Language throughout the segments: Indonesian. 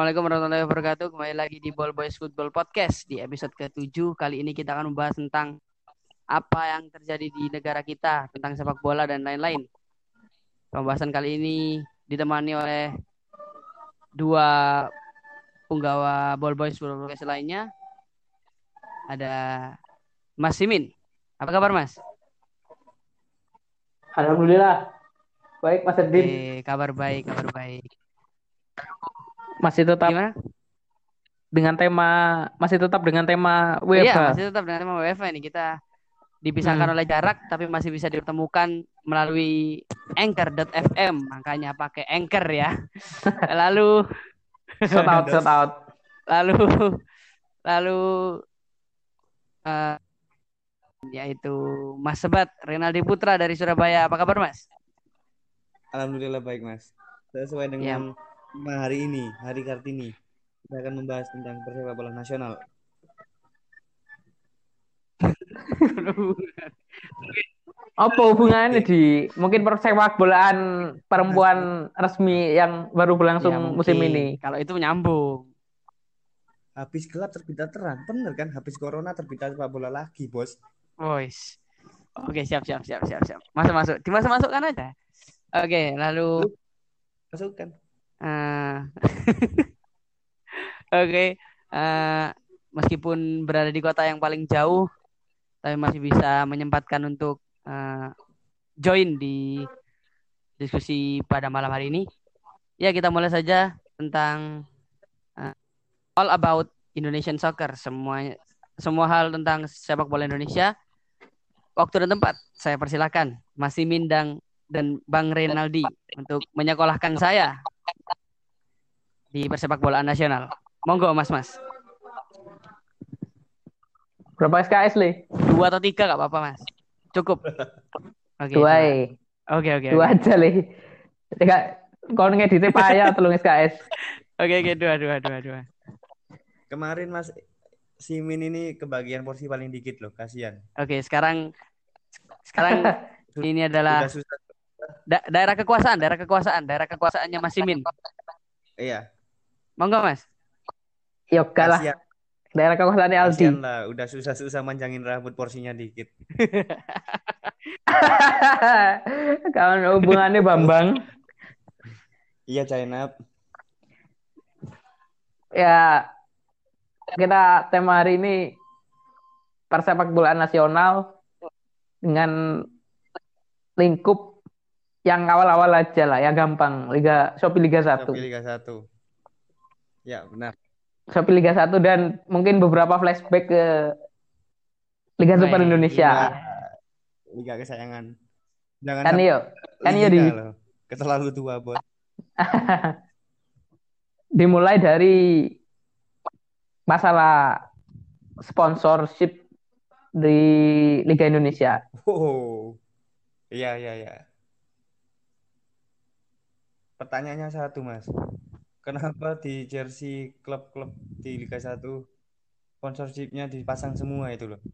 Assalamualaikum warahmatullahi wabarakatuh. Kembali lagi di Ball Boys Football Podcast di episode ke-7. Kali ini kita akan membahas tentang apa yang terjadi di negara kita, tentang sepak bola dan lain-lain. Pembahasan kali ini ditemani oleh dua punggawa Ball Boys Football Podcast lainnya. Ada Mas Simin. Apa kabar, Mas? Alhamdulillah. Baik, Mas Erdin. Kabar baik, kabar baik. Masih tetap Gimana? masih tetap dengan tema Iya, WFH. masih tetap dengan tema WFH ini. Kita dipisahkan Hmm. oleh jarak tapi masih bisa dipertemukan melalui Anchor.fm, makanya pakai Anchor ya. Lalu Shout out, shout out. lalu lalu eh, yaitu Mas Sebat Renaldi Putra dari Surabaya. Apa kabar, Mas? Alhamdulillah baik Mas. Sesuai Ya. dengan tema hari ini, Hari Kartini, kita akan membahas tentang persepak bola nasional. Apa hubungannya di mungkin persepak bolaan perempuan resmi yang baru Ya berlangsung musim mungkin ini? kalau itu nyambung. Habis gelap terbitlah terang, bener kan? Habis corona terbitlah sepak bola lagi, bos. Voice. Oke, siap siap siap siap siap. Masuk masuk. Dimasuk-masukkan aja. Oke, lalu Lu masukkan. eh oke, eh, meskipun berada di kota yang paling jauh, tapi masih bisa menyempatkan untuk join di diskusi pada malam hari ini. Ya, kita mulai saja tentang eh, all about Indonesian soccer, semua hal tentang sepak bola Indonesia. Waktu dan tempat, saya persilakan Mas Simin dan Bang Renaldi untuk menyekolahkan saya di persepak bolaan nasional. Monggo, Mas. Berapa SKS, Le? 2 atau 3 gak apa-apa, Mas. Cukup. Oke, Dua, 2. eh. Oke. Dua aja, Le. Tidak, kau ngeditnya payah telung SKS. Oke, dua. Kemarin Mas Simin ini kebagian porsi paling dikit loh, kasihan. Oke, sekarang ini Udah adalah susah. daerah kekuasaannya Mas Simin. Iya, Monggo, Mas. Yoga lah. kasihan, Daerah kekuasaannya Aldi. kasihan lah. Udah susah-susah manjangin rambut porsinya dikit. Kawan hubungannya Bambang. Iya, Zainab. Ya, kita tema hari ini persepak bolaan nasional dengan lingkup yang awal-awal aja lah, yang gampang. Shopee Liga 1. Shopee Liga 1. Ya, benar. Shopee Liga 1 dan mungkin beberapa flashback ke Liga Super Baik. Indonesia. Liga kesayangan. Jangan Kan sampai yo, kan yo Liga loh. Terlalu tua, bos. dimulai dari masalah sponsorship di Liga Indonesia. Oh, iya. Pertanyaannya satu, Mas. Kenapa di jersey klub-klub di Liga 1 sponsorshipnya dipasang semua itu loh?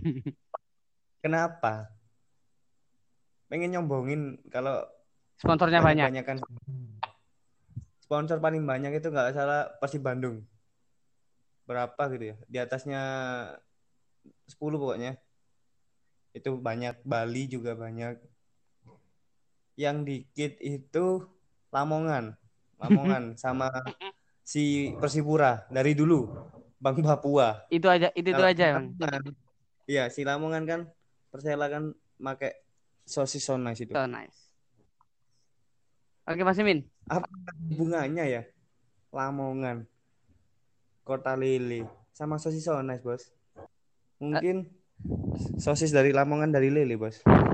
Kenapa? Pengen nyombongin kalau Sponsornya banyak. banyak kan sponsor paling banyak itu nggak salah Persib Bandung. Berapa gitu ya? Di atasnya 10 pokoknya. Itu banyak. Bali juga banyak. Yang dikit itu Lamongan sama si Persipura dari dulu Bang Papua. Itu Kalau aja, Bang. iya, si Lamongan kan Persela kan pakai sosis so nice itu. So nice. Oke, Mas Simin. Apa hubungannya ya? Lamongan, Kota Lele sama sosis so nice, Bos. Mungkin sosis dari Lamongan dari Lele, Bos.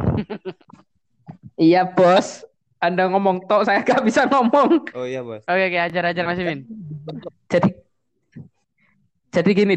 Iya, Bos. Anda ngomong tok, saya gak bisa ngomong. Oh iya, Bos. Oke, ajar Mas Simin. Jadi gini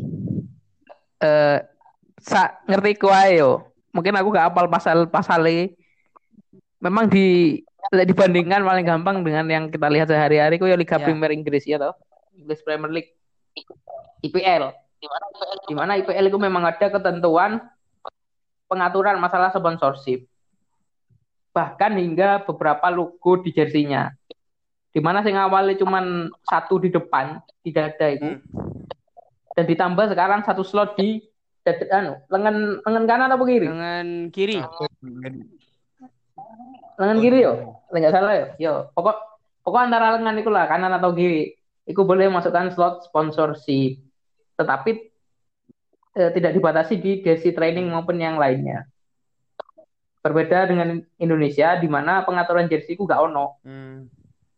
ngerti kuae yo. Mungkin aku gak hafal pasal-pasalnya. Memang dibandingkan paling gampang dengan yang kita lihat sehari-hari ku ya Liga Ya. Premier Inggris ya toh. English Premier League. IPL. Di mana IPL itu memang ada ketentuan pengaturan masalah sponsorship. Bahkan hingga beberapa logo di jersinya. Di mana sing awalnya cuman satu di depan di dada itu Hmm. dan ditambah sekarang satu slot di dada, lengan lengan kanan atau kiri? Dengan kiri. Capek. Lengan Oh, kiri yo. dengan. Enggak salah yo. Yo, pokok antara lengan itu lah, kanan atau kiri. Itu boleh masukkan slot sponsorship. Tetapi tidak dibatasi di jersey training maupun yang lainnya. Berbeda dengan Indonesia di mana pengaturan jersey itu gak ono. Hmm.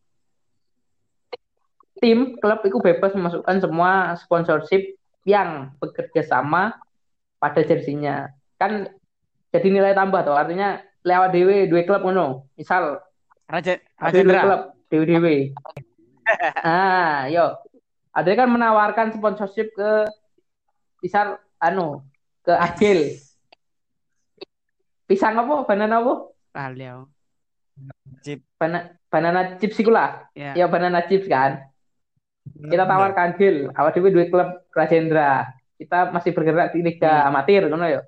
Tim klub itu bebas memasukkan semua sponsorship yang bekerja sama pada jersinya. Kan jadi nilai tambah tuh. Artinya lewat dewe dua klub ngono. Misal Raja ada dua Rajendra. klub dewe. Yo. Ada kan menawarkan sponsorship ke misal ke Agil. Pisang apa? Banana apa? Liao. Chip. Banana chips iku lah. Ya. Ya banana chips kan. Kita tawarkan Gil, awal dewe dua klub Rajendra. Kita masih bergerak di liga amatir ngono ya.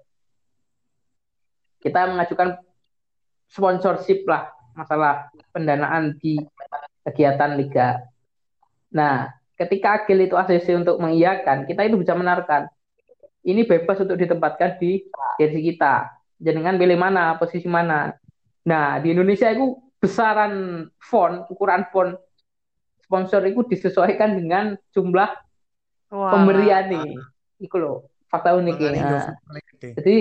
Kita mengajukan sponsorship lah masalah pendanaan di kegiatan liga. Nah, ketika Agil itu ACC untuk mengiyakan, kita itu bisa menawarkan ini bebas untuk ditempatkan di jersey kita. Jangan pilih mana, posisi mana. Nah, di Indonesia itu besaran font, ukuran font sponsor itu disesuaikan dengan jumlah pemberian nih. Iku loh, fakta unik ya. Jadi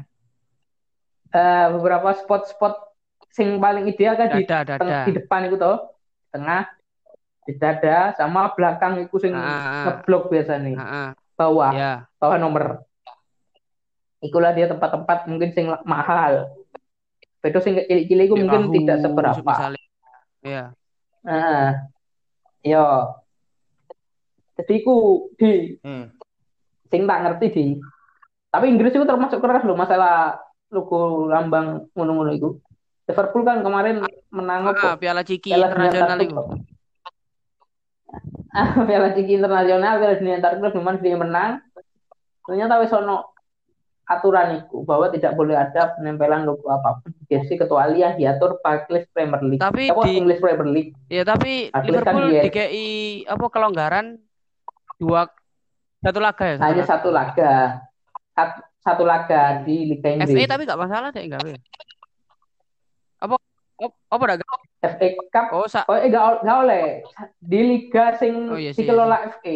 beberapa spot-spot sing paling ideal kan di depan itu toh, tengah, di dada, sama belakang itu sing ngeblok biasanya. Bawah nomor. Ikulah dia tempat-tempat mungkin sing mahal. Itu sing cilik-cilik itu mungkin tidak seberapa. Iya. Yo. Jadi ku di sing tak ngerti di. Tapi Inggris itu termasuk keras loh masalah logo lambang ngono-ngono itu. Liverpool kan kemarin menang Piala Ciki internasional itu. Piala Ciki internasional, Piala Dunia antar klub memang dia menang. Ternyata wis ono aturan itu bahwa tidak boleh ada penempelan logo apapun di jersey kecuali yang diatur English Premier League. Tapi di English Premier League. Ya, tapi Liverpool dikei apa kelonggaran satu laga ya? Hanya satu laga. Satu laga di Liga Inggris. FA tapi nggak masalah deh, enggak ya? Apa dah? FA Cup. Enggak oleh. Di liga sing dikelola FA.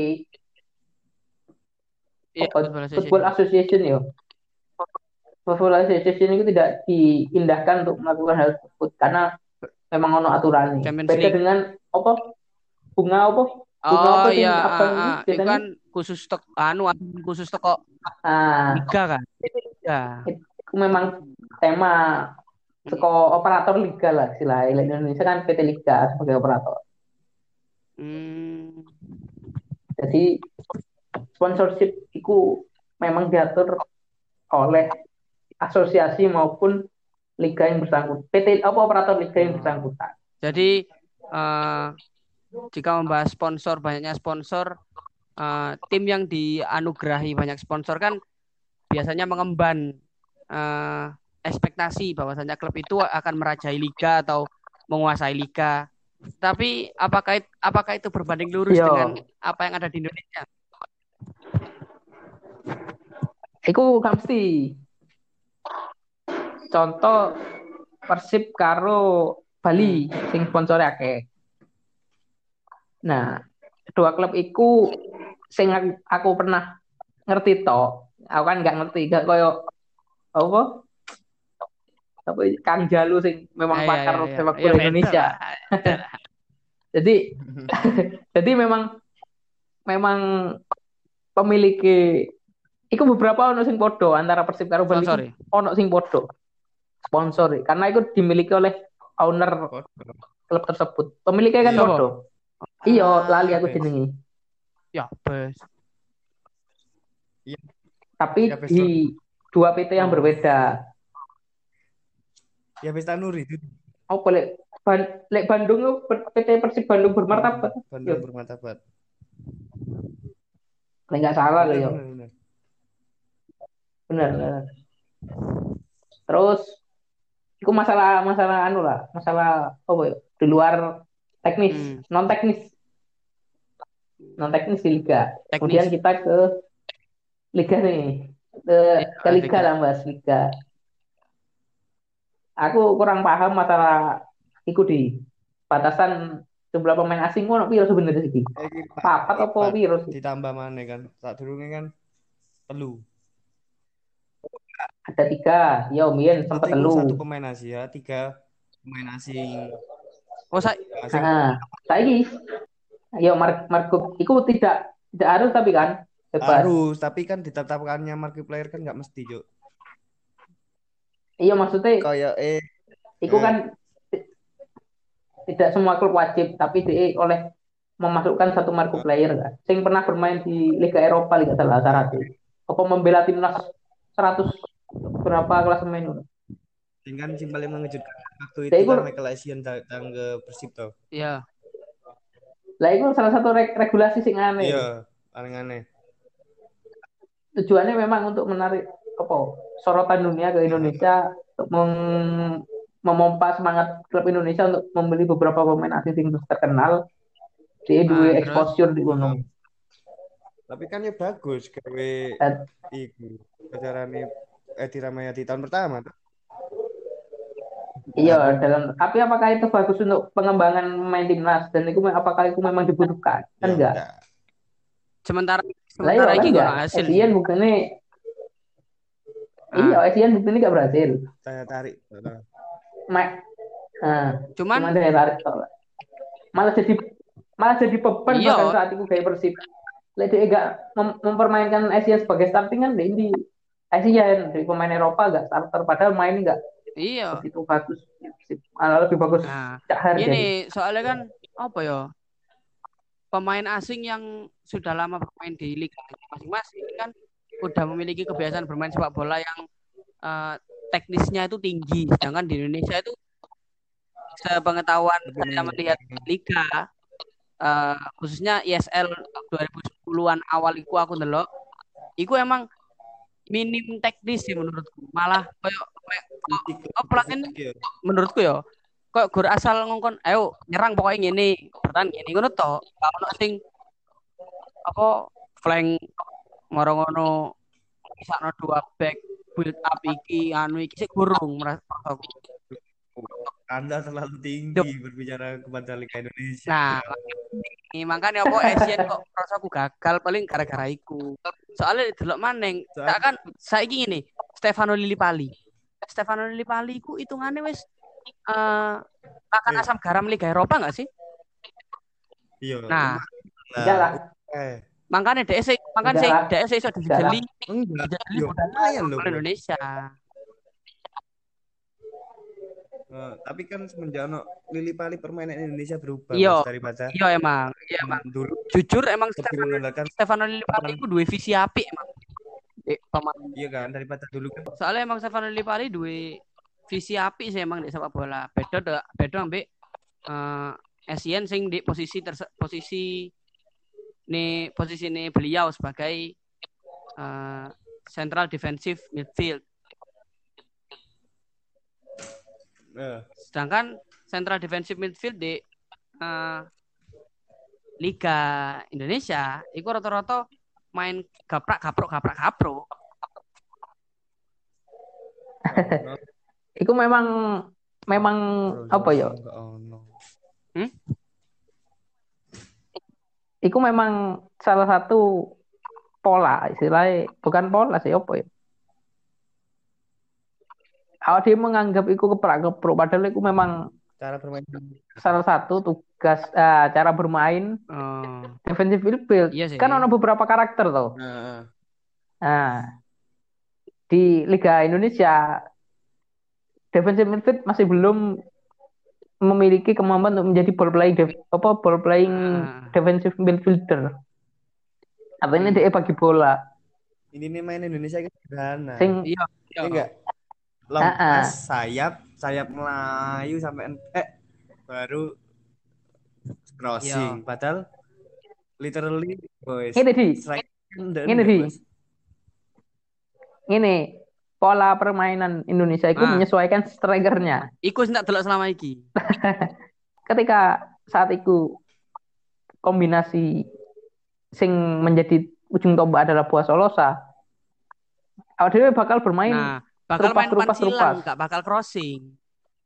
Football Association ya. Football Association itu tidak diindahkan untuk melakukan hal tersebut karena memang ono aturan nih. Beda dengan apa? Bunga apa? Oh iya, itu kan khusus khusus toko liga kan. Itu memang tema toko operator liga lah istilahnya. Indonesia kan PT Liga sebagai operator. Jadi sponsorship itu memang diatur oleh asosiasi maupun liga yang bersangkutan. PT operator liga yang bersangkutan. Jadi jika membahas sponsor, banyaknya sponsor, tim yang dianugerahi banyak sponsor kan biasanya mengemban ekspektasi bahwasanya klub itu akan merajai liga atau menguasai liga. Tapi apakah itu berbanding lurus dengan apa yang ada di Indonesia? Iku mesti. Contoh Persib karo Bali sing sponsor akeh. Nah, dua klub iku sing aku pernah ngerti to. Aku kan nggak ngerti, gak koyo apa? Tapi Kang Jalu sing memang pakar sepak bola Indonesia. jadi memang pemilik iku beberapa ono sing podo antara Persib karo Bali. Ono sing podo sponsor karena itu dimiliki oleh owner klub tersebut. Pemiliknya kan podo. Iya, lali aku jenenge. Ya, bes. Iya. Tapi di dua PT yang berbeda. Ya Pesta Nuri itu. Oh, boleh. Lek Bandung PT Persib Bandung bermartabat. Bandung bermartabat. Enggak salah loh, ya. Benar. Terus itu masalah masalah apa ya? Di luar teknis, non teknis di liga. Kemudian Teknis. kita ke liga nih, ke liga lah Mas, liga. Aku kurang paham masalah iku di batasan jumlah pemain asing ngono piro sebenarnya sih? Papat apa piro sih? Ditambah mana kan? Tak durungnya kan telu. Ada 3, ya Mien sempat Satu telu. pemain Asia, 3 pemain asing. Oh, Asing. Saiki ya Marco iku tidak harus tapi kan bebas. Harus, tapi kan ditetapkannya markiplier kan nggak mesti, Cuk. Iya maksudnya Kayak iku kan tidak semua klub wajib, tapi dia oleh memasukkan satu marco player kan. Sing pernah bermain di Liga Eropa Liga salah syaratnya. Apa membela timnas 100 berapa kelas main. Dengan yang paling mengejutkan waktu Ya, itu kan Michael Essien datang ke Persib toh. Iya. Lah itu salah satu regulasi sing aneh. Iya, paling aneh. Tujuannya memang untuk menarik sorotan dunia ke Indonesia untuk memompa semangat klub Indonesia untuk membeli beberapa pemain asing yang terkenal. Dia dua exposure di gunung. Tapi kan ya bagus gawe iku acarane Edi Ramayadi tahun pertama tuh. Iya, tapi apakah itu bagus untuk pengembangan pemain timnas dan itu apakah itu memang dibutuhkan? Kan enggak. Sementara ini enggak hasil. Essien buktinya iya, Essien buktinya enggak berhasil. Saya tarik. Cuman daya tarik malah jadi beban bahkan saat itu kayak Persib. Lek dia enggak mempermainkan Essien sebagai starting kan di Essien dari pemain Eropa enggak starter padahal main enggak. Iya. Itu bagus. Malah lebih bagus. Ini soalnya kan apa ya? Pemain asing yang sudah lama bermain di liga masing-masing kan udah memiliki kebiasaan bermain sepak bola yang teknisnya itu tinggi. Sedangkan di Indonesia itu sepengetahuan saya melihat liga khususnya ISL 2010-an awal aku ndelok iku emang minim teknis sih menurutku. Malah pelatih menurutku ya kok gur asal ngongkon ayo nyerang pokoknya ngene bertahan ngene ngono to ono sing apa flank ngono misakno 2 back build up iki anu iki sik gurung merasaku. Anda terlalu tinggi berbicara kepada Liga Indonesia. Nah, makanya apa Essien kok rasaku gagal paling gara-gara iku. Soalnya delok maneng, tak kan saiki ngene, Stefano Lillipali iku hitungane wis makan asam garam Liga Eropa enggak sih? Iya. Nah, makanya DS iso dijeli. Lumayan loh Indonesia. Tapi kan semenjak Lillipali permainan Indonesia berubah daripada emang dulu. Jujur emang Stefano Lillipali itu dua visi apik emang. Iya kan daripada dulu kan. Soalnya emang Stefano Lillipali dua visi apik sih emang di sepak bola. Beda ambek Essien sing di posisi ini beliau sebagai central defensive midfield. Sedangkan central defensive midfield di Liga Indonesia itu rata-rata main gaprak. Itu memang apa ya? Itu memang salah satu pola istilahnya, bukan pola sih apa ya? Kalau dia menganggap itu keprak-kepruk, padahal itu memang cara bermain salah satu tugas cara bermain defensive midfield. Iya kan ada beberapa karakter tuh. Nah, di Liga Indonesia defensive midfield masih belum memiliki kemampuan untuk menjadi ball playing defensive midfielder. Artinya dia bagi bola. Ini nih main Indonesia kan sederhana. Iya. Enggak. Lepas sayap melayu sampai baru crossing. Padahal literally boys. Ini pola permainan Indonesia itu menyesuaikan strikernya. Iku ndak delok selama iki. Ketika saat itu kombinasi sing menjadi ujung tombak adalah Boas Solosa, awak dhewe bakal bermain Nah, bakal main umpan silang, terupas. nggak bakal crossing.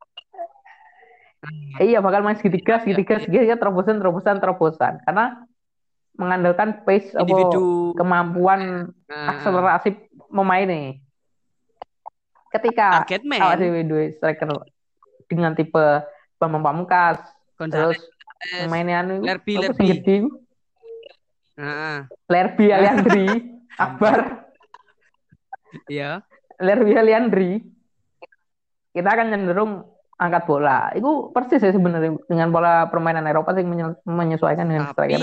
Iya, bakal main segitiga, Iya, segitiga, iya. segitiga, terobosan. Karena mengandalkan pace apa Individu. kemampuan Nah, akselerasi pemain nih. Ketika target awak man, dhewe duwe striker dengan tipe Bambang Pamungkas, terus Gonzales, pemainnya anu Lerby, apa sing Lerby. gede iku? Nah, Lerby Aliandri, Akbar, iya. Lerby Aliandri, kita akan cenderung angkat bola. Itu persis ya sebenarnya dengan pola permainan Eropa sing menyesuaikan dengan striker.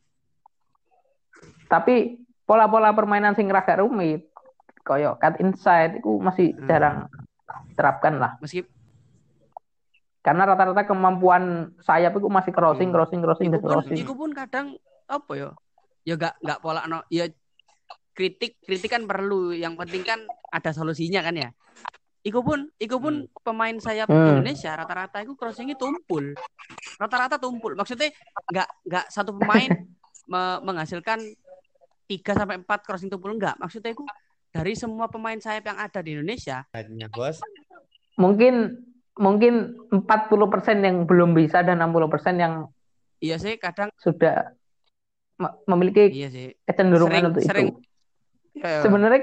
Tapi pola-pola permainan sing ragak rumit, koyo cut inside itu masih jarang diterapkan lah. Meski Karena rata-rata kemampuan sayap itu masih crossing. Iku pun kadang apa ya? Ya nggak pola no. Ya kritik kan perlu. Yang penting kan ada solusinya kan ya. Iku pun pemain sayap Indonesia rata-rata itu crossingnya tumpul. Rata-rata tumpul. Maksudnya nggak satu pemain menghasilkan 3-4 crossing tumpul, enggak. Maksudnya itu dari semua pemain sayap yang ada di Indonesia. Bos. Mungkin 40% yang belum bisa dan 60% yang iya sih kadang sudah memiliki kecenderungan untuk itu. Sebenarnya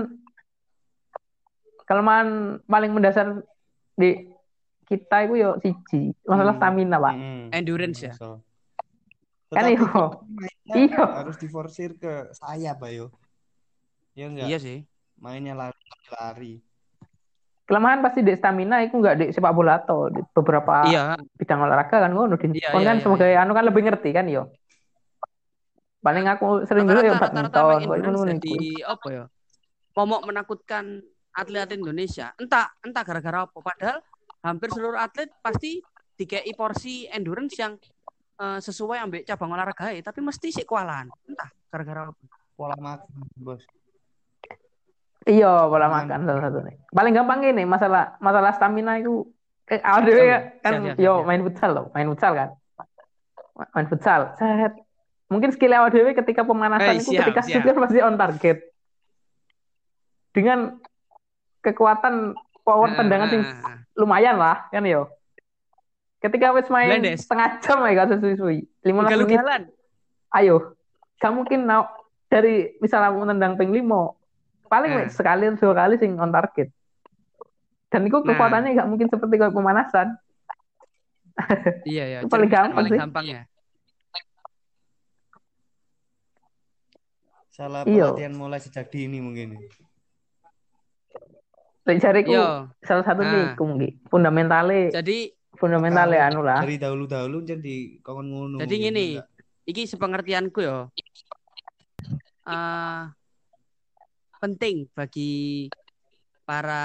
kelemahan paling mendasar di kita itu yo siji, masalah stamina, Pak. Endurance ya. Kan iyo harus diforsir ke sayap, ayo. Ya enggak? Iya sih. Mainnya lari. Kelemahan pasti di stamina itu enggak di sepak bola atau di beberapa bidang olahraga kan ngono. Kan sebagai anu kan lebih ngerti kan yo. Paling aku sering dulu ya badminton kok ngono di apa ya? Momok menakutkan atlet Indonesia. Entah gara-gara apa. Padahal hampir seluruh atlet pasti dikei porsi endurance yang sesuai ambek cabang olahraga, tapi mesti sih kewalahan. Entah gara-gara apa. Pola makan, Bos. Iya, pola makan salah satu nih. Paling gampang ini masalah stamina itu ada kan yo main futsal loh, main futsal kan. Main futsal. Mungkin skill awal dewe ketika pemanasan itu ketika supir pasti on target. Dengan kekuatan power tendangan sing lumayan lah kan yo. Ketika wis main setengah jam ya gak suwi-suwi 15 menit. Ayo. Gak mungkin dari misalnya aku nendang ping 5 paling sekali 2 kali sing on target. Dan itu kekuatannya gak mungkin seperti kayak pemanasan. Iya. Paling gampang ya. Salah pelatihan mulai sejak dini mungkin. Jariku salah satu nih mungkin fundamentalnya. Jadi fundamentalnya anu lah. Dari dahulu jadi kawan ngono. Jadi gini, iki sepengertianku ya. Penting bagi para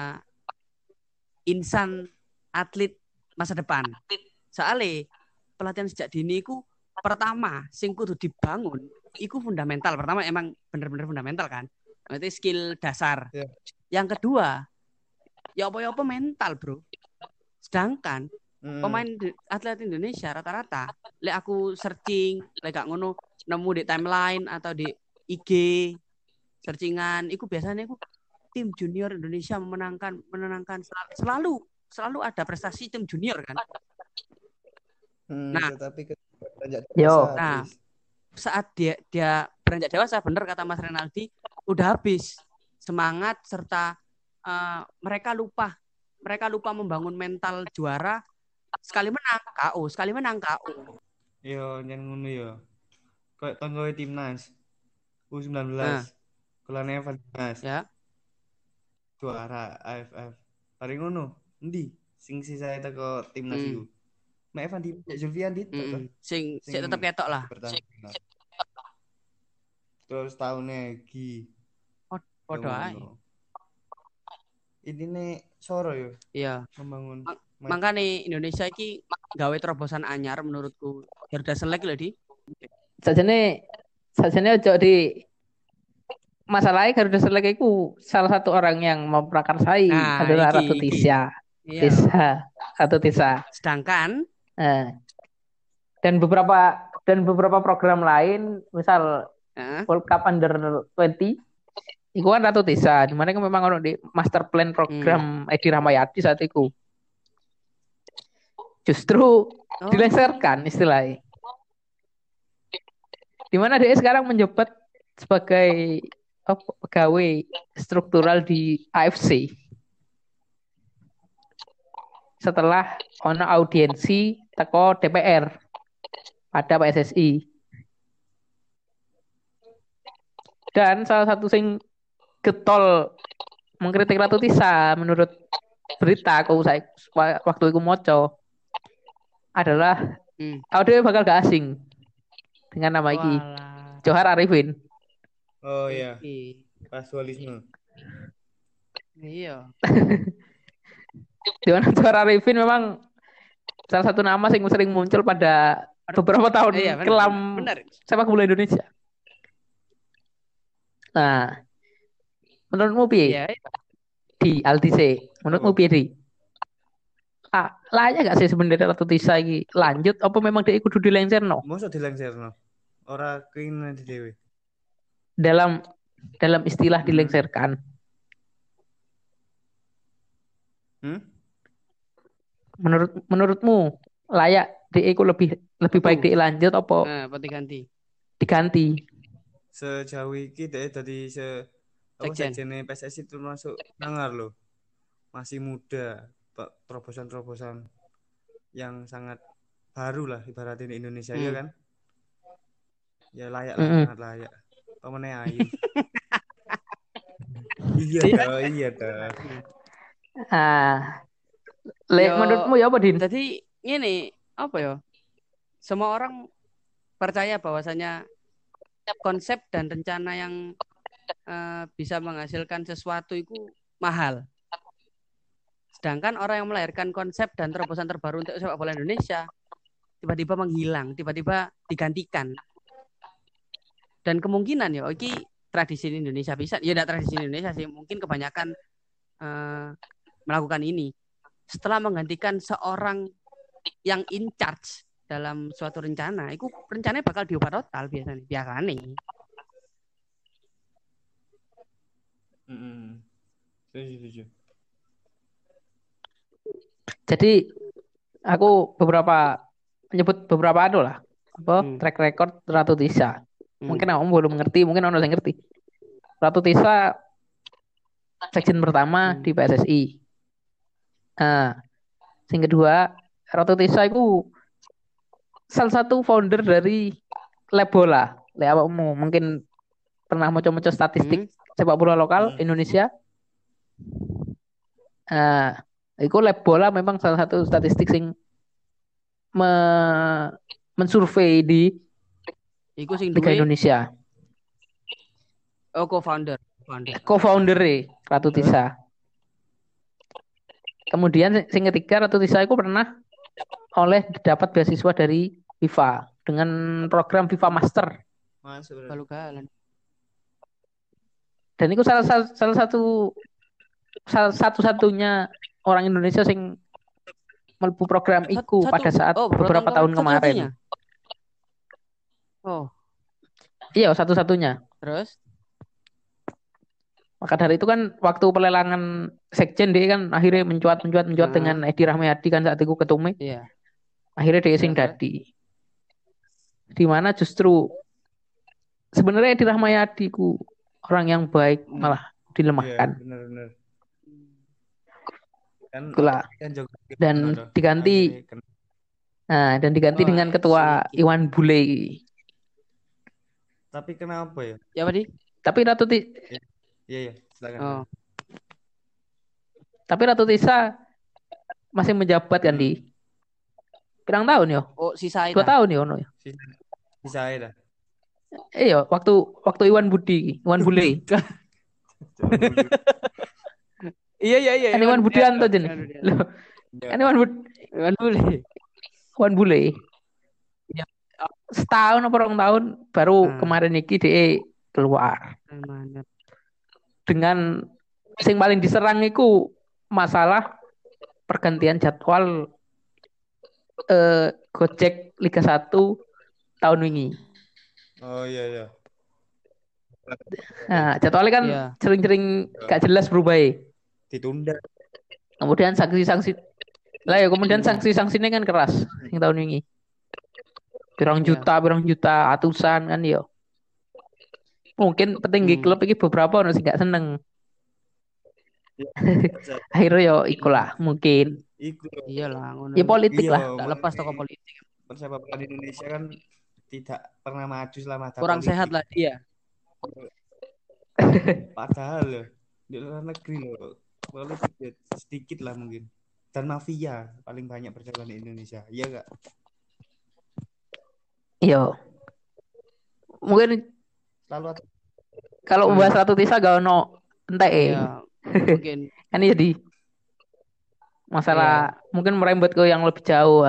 insan atlet masa depan. Soalnya pelatihan sejak dini iku pertama sing kudu dibangun iku fundamental. Pertama emang bener-bener fundamental kan. Berarti skill dasar. Yang kedua, ya apa-apa mental, Bro. Sedangkan pemain atlet Indonesia rata-rata, lek aku searching, lek gak ngono nemu di timeline atau di IG searchingan, iku biasanya iku tim junior Indonesia menenangkan selalu ada prestasi tim junior kan. Saat dia beranjak dewasa, bener kata Mas Renaldi, udah habis semangat serta mereka lupa membangun mental juara. Sekali menang KO. Yo, jangan ngono yo. Kayak tanggoe timnas U19. Kelan Evan Dimas. Ya. Juara AFF. Paling ngono, endi sing sisa teko timnas iku. Mek Evan Dimas Zulfian ditok. Sing tetep ketok lah. Terus tahunnya Gi. Podo ae. Ini Soro yo. Iya. Membangun. Makanya Indonesia iki gawe terobosan anyar menurutku. Garuda Select lho, Di. Sajane ojo di masalahnya Garuda Select itu salah satu orang yang memprakarsai adalah Ratu Tisha. Tisa. Sedangkan dan beberapa program lain, misal Heeh. World Cup Under 20, itu kan Ratu Tisa, di mana kan memang ono di master plan program Edi Rahmayadi saat itu. Justru Oh. dilengsarkan istilahnya. Di mana dia sekarang menjabat sebagai pegawai struktural di AFC setelah ono audiensi teko DPR pada PSSI. Dan salah satu sing getol mengkritik Ratu Tisa menurut berita waktu itu moco adalah audio bakal gak asing dengan nama iki Walah. Johar Arifin. Oh iya, Iki. kasualisme. Iya. Di mana Johar Arifin memang salah satu nama yang sering muncul pada beberapa tahun Iya, benar, kelam benar. sepak bola Indonesia. Nah, menurutmu piye Iya. di Altise? Menurutmu piye di? Layak gak sih sebenarnya Ratu Tisa iki lanjut apa memang dia kudu dilengserno Mosok dilengserno. Ora keinginan di dhewe. dalam istilah dilengserkan? Menurutmu layak dia lebih baik dia lanjut apa Apa diganti? diganti? Sejauh iki deh tadi sekjen PSSI termasuk sangar loh. Masih muda, terobosan-terobosan yang sangat baru lah ibaratnya di Indonesia ya kan? Ya layak lah, sangat layak. Pemenang ayu. Iya dah. Menurutmu ya apa Din? Jadi ini apa ya? Semua orang percaya bahwasanya konsep dan rencana yang bisa menghasilkan sesuatu itu mahal. Sedangkan orang yang melahirkan konsep dan terobosan terbaru untuk sepak bola Indonesia tiba-tiba menghilang, tiba-tiba digantikan. Dan kemungkinan ya, ini tradisi Indonesia bisa, ya tidak tradisi Indonesia sih, mungkin kebanyakan melakukan ini. Setelah menggantikan seorang yang in charge dalam suatu rencana, itu rencananya bakal diubah total biasanya. Setuju. Jadi aku menyebut beberapa track record Ratu Tisa. Mungkin kamu belum mengerti, mungkin orang yang ngerti. Ratu Tisa sekjen pertama di PSSI. Yang kedua, Ratu Tisa itu salah satu founder dari Lab Bola. Mungkin pernah mau statistik sepak bola lokal Indonesia. Itu Lab Bola memang salah satu statistik yang mensurvei di Liga Indonesia. Oh, co-founder Ratu Tisa. Kemudian yang ketiga, Ratu Tisa itu pernah dapat beasiswa dari FIFA dengan program FIFA Master. Dan itu salah satu-satunya orang Indonesia yang melebu program itu pada saat beberapa tahun kemarin. Iya, satu-satunya. Terus? Maka dari itu kan waktu pelelangan sekjen dia kan akhirnya mencuat dengan Edi Rahmayadi kan saat itu ketumnya. Iya. Akhirnya dia sing dadi. Di mana justru sebenarnya Edi Rahmayadi ku orang yang baik malah dilemahkan. Benar. Dan diganti dengan ketua Iwan Bule. Tapi kenapa ya? Ya, Pak Di? Tapi Ratu Iya, silakan. Tapi Ratu Tisa masih menjabat kan di pirang tahun ya? Sisa 2 tahun ya ono ya. Sisa dah. Iya, waktu Iwan Bule. Iya. Kan Iwan Budianto jeneng. Loh. Kan Iwan Bule. Ya. Setahun atau 2 tahun baru kemarin iki dia keluar. Dengan yang paling diserang itu masalah pergantian jadwal Gojek Liga 1 tahun wingi. Oh iya. Nah, jadwalnya kan Iya. sering-sering gak jelas berubah ya. Ditunda. Kemudian sanksi-sanksi lah ya, kemudian sanksi-sanksinya kan keras yang tahun wingi. Pirang Iya. juta, atusan kan yo. Mungkin petinggi klub ini beberapa orang sih gak seneng. Akhirnya yo ikulah mungkin. Iku. Iyalah, ngono. Ya politik Iya, lah. Tak lepas toko politik. Persepak bola di Indonesia kan tidak pernah maju selama ada Kurang politik. sehat lah dia. Padahal loh, di luar negeri loh, politik ya sedikit lah mungkin. Dan mafia paling banyak berjalan di Indonesia, iya gak? Iya. Mungkin Selalu ada. kalau bahas Ratu Tisa gak ono entek Iya. Mungkin kan jadi masalah mungkin merembet ke yang lebih jauh.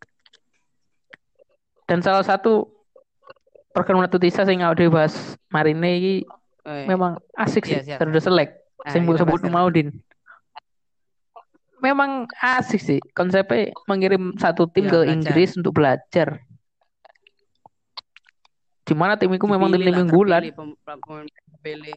Dan salah satu program Ratu Tisa sing udah dibahas Marine ini memang asik sih. Iya, siap. Terus selek. Sing kita sebut bahas Maudin. Memang asik sih konsepnya, mengirim satu tim ke belajar. Inggris untuk belajar. Dimana tim itu memang tim unggulan. Pilih.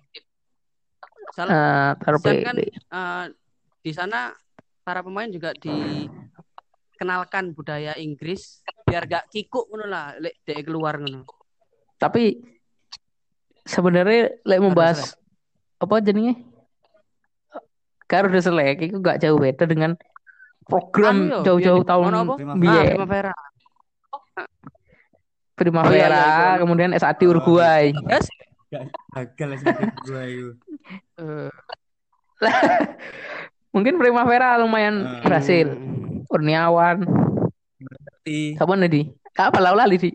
Terpilih. Kan di sana para pemain juga dikenalkan budaya Inggris biar gak kikuk ngono lah lek dhek keluar ngono. Tapi sebenarnya lek membahas apa jenenge? Karo udah selek itu gak jauh beda dengan program jauh-jauh tahun biyen. Primavera, kemudian SAD Uruguay. Yes. Gagal SAD Uruguay itu. Mungkin Primavera lumayan berhasil. Kurniawan. Siapa nih di? Apa lali di?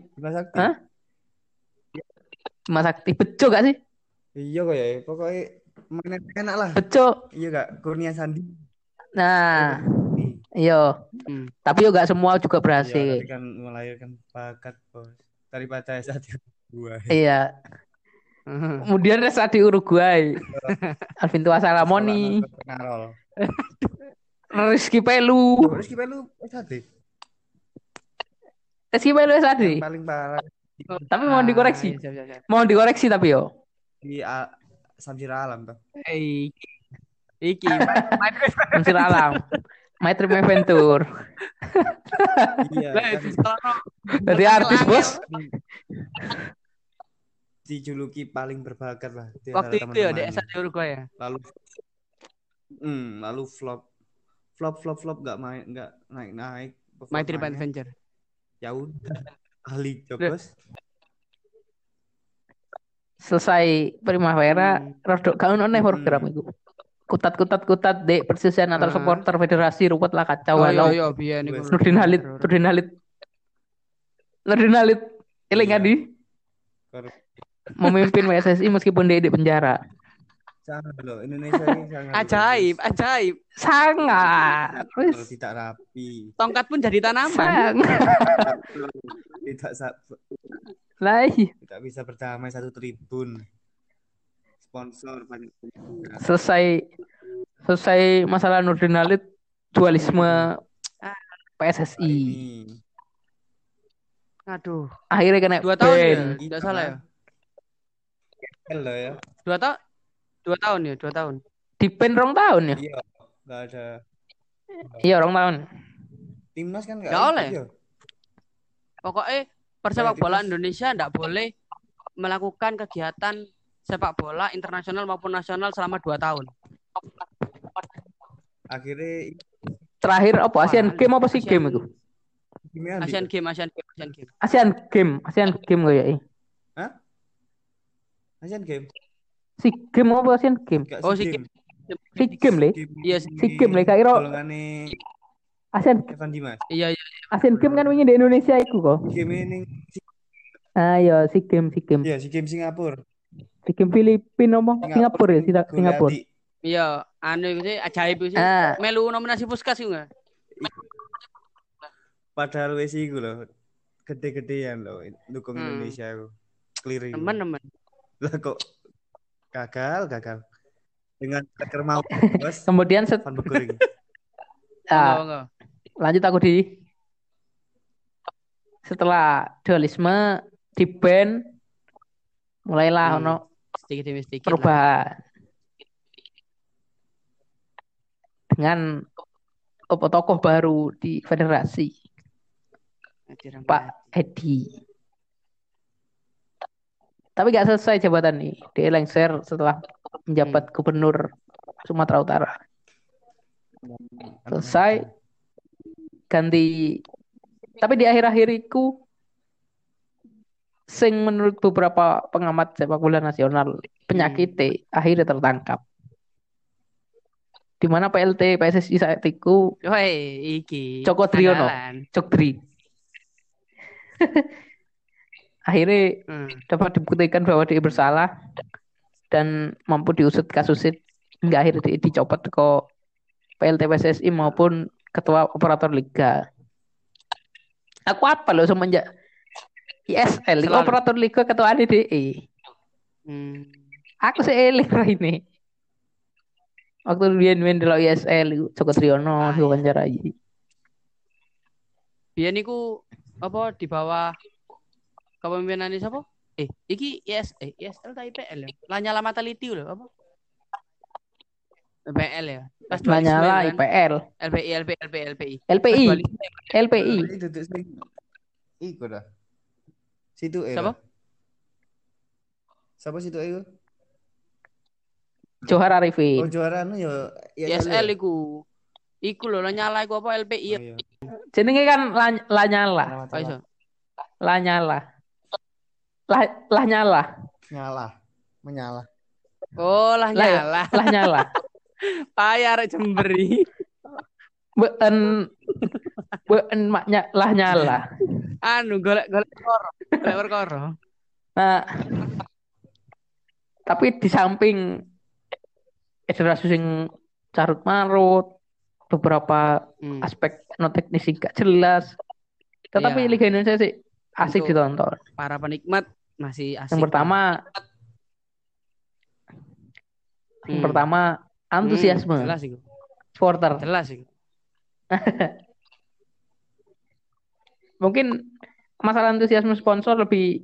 Mas Sakti. Bejo gak sih? Iya kok ya. Pokoknya mainan enak lah. Bejo. Iya gak? Kurnia Sandi. Nah. Iya. Tapi yo gak semua juga berhasil. Iya, tapi kan melahirkan bakat, Bos. Daripada SAD Uruguay. Iya. Kemudian SAD Uruguay. Alvin Tua Salamoni. Rizky Pelu SAD. Rizky Pelu SAD. Paling parah. Tapi mau dikoreksi. Mau dikoreksi tapi yo. Di Samsir Alam tuh. Iki Samsir Alam. My Trip Adventure. Iya. Dari artis bos. Dijuluki paling berbakat lah. Waktu itu ya di SAD Uruguay ya. Lalu flop nggak naik. My Trip Adventure. Ya udah. Ahli job bos. Selesai Primavera, rodok kau nonton program itu. Kutat dek persisian antar supporter federasi ruwet lah kacau. Iya biyen niku. Nurdin Halid eling adi memimpin PSSI meskipun dia di penjara. Sangat loh, Indonesia ini sangat ajaib sangat. Kalau tidak rapi, tongkat pun jadi tanaman. Tidak bisa berdamai satu tribun. Sponsor banyak. Selesai masalah Nurdin Halid, dualisme PSSI. Aduh. Akhirnya kena 2 tahun ya, tidak salah ya. Hello ya. 2 tahun ya, 2 tahun. Di pen 2 tahun ya. Iya, nggak ada. Iya 2 tahun. Timnas kan nggak boleh. Pokoknya persepak bola Indonesia nggak boleh melakukan kegiatan sepak bola internasional maupun nasional selama 2 tahun. Akhirnya terakhir apa? Asian Game apa sih game itu? Asian Game. Asian Game kok ya. Hah? Asian Game. Si game apa Asian Game? Oh si game. Si game le. Iya si game le kak Iro. Asian Evan Dimas. Iya. Asian Game kan wingi di Indonesia iku kok. Game ini. Iya, si game. Iya, si game Singapura. Si game Filipina apa? Singapura ya, Singapura. Iya, anu sih ajaib sih. Melu nominasi Puskas juga. Padahal wes iku lho. Gede-gedean lho dukung Indonesia aku. Clearing. Teman-teman. Lah kok gagal dengan striker mau bos. Kemudian Van Beekering. Lanjut aku di setelah dualisme di band mulailah ono sedikit demi sedikit lah. perubahan dengan tokoh baru di federasi, Pak Edi. Tapi gak selesai jabatan nih, dia lengser setelah menjabat gubernur Sumatera Utara. Selesai, ganti. Tapi di akhir-akhir itu, sing menurut beberapa pengamat sepak bola nasional, penyakitnya akhirnya tertangkap. Di mana PLT PSSI saat itu Joko Driono, Jokdri. Akhirnya dapat dibuktikan bahwa dia bersalah dan mampu diusut kasusnya hingga akhirnya dicopot ke PLT PSSI maupun ketua operator liga. Aku apa loh semenjak ISL, operator liga ketua ADDE. Aku seeling lah ini. Waktu dia main di ISL, Joko Driono diwawancarai. Biar niku apa di bawah kepemimpinan siapa? Iki ISL ta IPL ya? Lanyala Mataliti lho apa? IPL ya. Pas Lanyala IPL. LPI. Iku dah. Situ siapa? Siapa situ itu? Johar Arifin. Oh Johar anu ya ISL iku. Iku lho Lanyala iku apa LPI ya. Jenenge kan Lanyala. Lanyala. Nyala. Menyala. Oh, nyala. Nyala. Payah rek Jemberi. Been maknya nyala. Anu golek perkara. Nah, tapi di samping federasi sing carut marut, beberapa aspek non teknis gak jelas, tetapi Liga Indonesia sih asik ditonton. Para penikmat masih asik. Yang pertama antusiasme. Jelas itu. Supporter. Jelas itu. Mungkin masalah antusiasme sponsor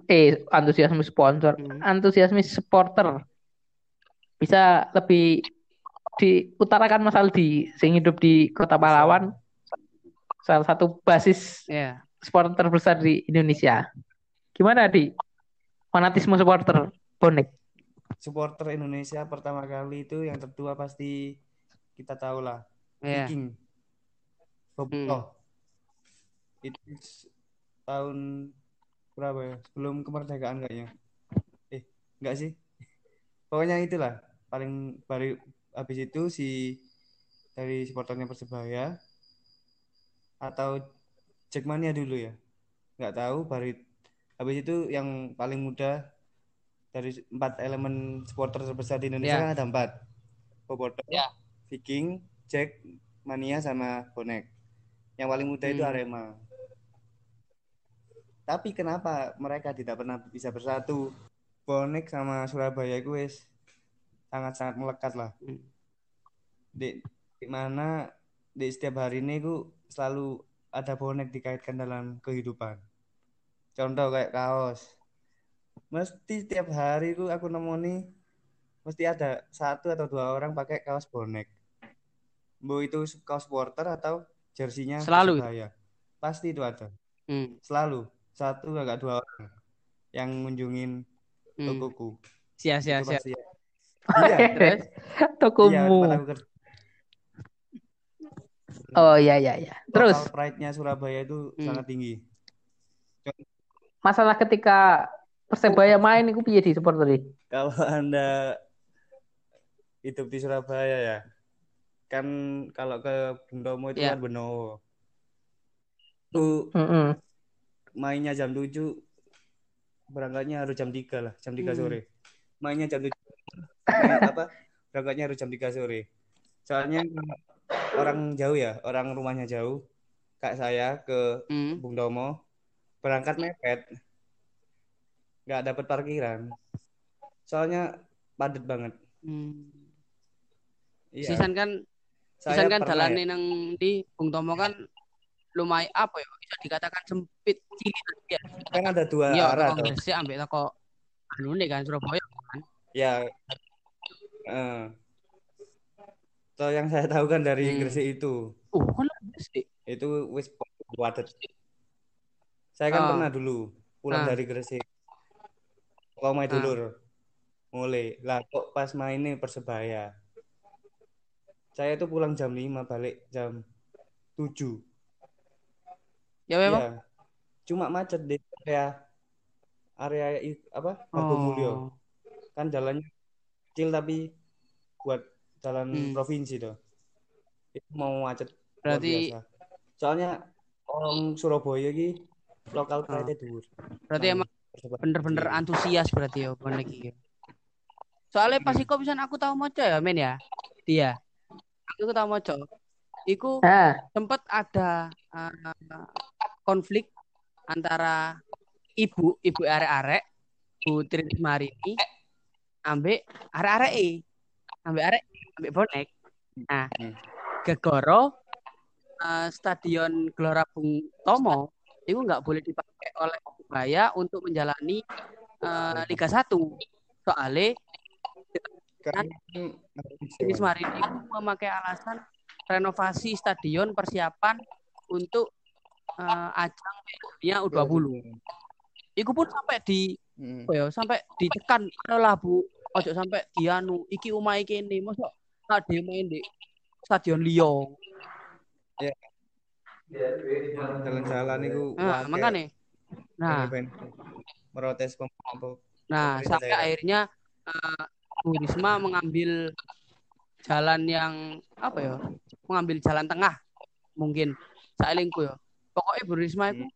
antusiasme supporter bisa lebih diutarakan Mas Aldi sing hidup di Kota Pahlawan, salah satu basis supporter terbesar di Indonesia. Gimana di fanatisme supporter bonek? Supporter Indonesia pertama kali itu yang tertua pasti kita tahu lah, Viking. Bobotoh. Itu tahun berapa ya? Sebelum kemerdekaan kayaknya. Enggak sih. Pokoknya itulah paling baru. Habis itu dari supporternya Persebaya atau Jackmania dulu ya. Enggak tahu baru. Habis itu yang paling muda dari 4 elemen supporter terbesar di Indonesia kan ada 4. Bobotoh, Viking, Jackmania sama Bonek. Yang paling muda itu Arema. Tapi kenapa mereka tidak pernah bisa bersatu? Bonek sama Surabaya itu sangat-sangat melekat lah. Di mana di setiap hari ini itu selalu ada bonek dikaitkan dalam kehidupan. Contoh kayak kaos. Mesti setiap hari itu aku nemu nih, mesti ada 1 atau 2 orang pakai kaos bonek. Mau itu kaos supporter atau jersinya Persebaya. Pasti itu ada. Selalu 1 agak 2 orang yang ngunjungin tokoku. Siap. Iya. Tokomu. Oh iya. Terus local pride-nya Surabaya itu sangat tinggi. Masalah ketika Persebaya main itu piye di supporter? Kalau Anda hidup di Surabaya ya, kan kalau ke Bung Tomo itu kan Benowo. Tuh mainnya jam 7, berangkatnya harus jam 3 lah, jam 3 sore. Mainnya jam 7. Berangkatnya harus jam 3 sore. Soalnya orang jauh ya, orang rumahnya jauh. Kayak saya ke Bung Tomo, berangkat mepet. Nggak dapat parkiran. Soalnya padat banget. Sisan kan dalane nang di Bung Tomo kan lumayan apa ya bisa dikatakan sempit cilik ya. Kan ada dua Iya, arah toko toh. Gresik ambek toko anu nih kan Surabaya kan. Ya, toh yang saya tahu kan dari Gresik itu Kan Gresik. wis padet. Saya kan Oh. pernah dulu pulang dari Gresik. Kalau main dulur mulai lah kok pas mainnya Persebaya. Saya tuh pulang jam 5 balik jam 7. Ya memang. Iya. Cuma macet di area apa? Hargomulyo. Kan jalannya kecil tapi buat jalan provinsi tuh. Itu mau macet luar Berarti biasa. Soalnya orang Surabaya iki lokal pride dhuwur. Berarti emang bener-bener antusias berarti ya bonek iki. Soalnya pas iku pisan aku tahu moco ya men ya. Dia. Aku tahu moco. Iku sempat ada konflik antara ibu arek-arek Putri Marini ambek arek-arek ambek bonek. Nah, gegoro stadion Gelora Bung Tomo itu nggak boleh dipakai oleh Persebaya untuk menjalani Liga 1. Soalnya Putri Marini itu memakai alasan renovasi stadion persiapan untuk ajang dunia U20. Iku pun sampai sampai ditekan lah Bu, ojo sampai dianu iki omahe kene mosok ade main di stadion Lyon. Ya. Jalan-jalan itu makanya. Nah, merotes pemerintah. Nah, sampai akhirnya Bu Risma mengambil jalan yang apa ya? Mengambil jalan tengah mungkin saelingku ya. Pokoknya Bu Risma itu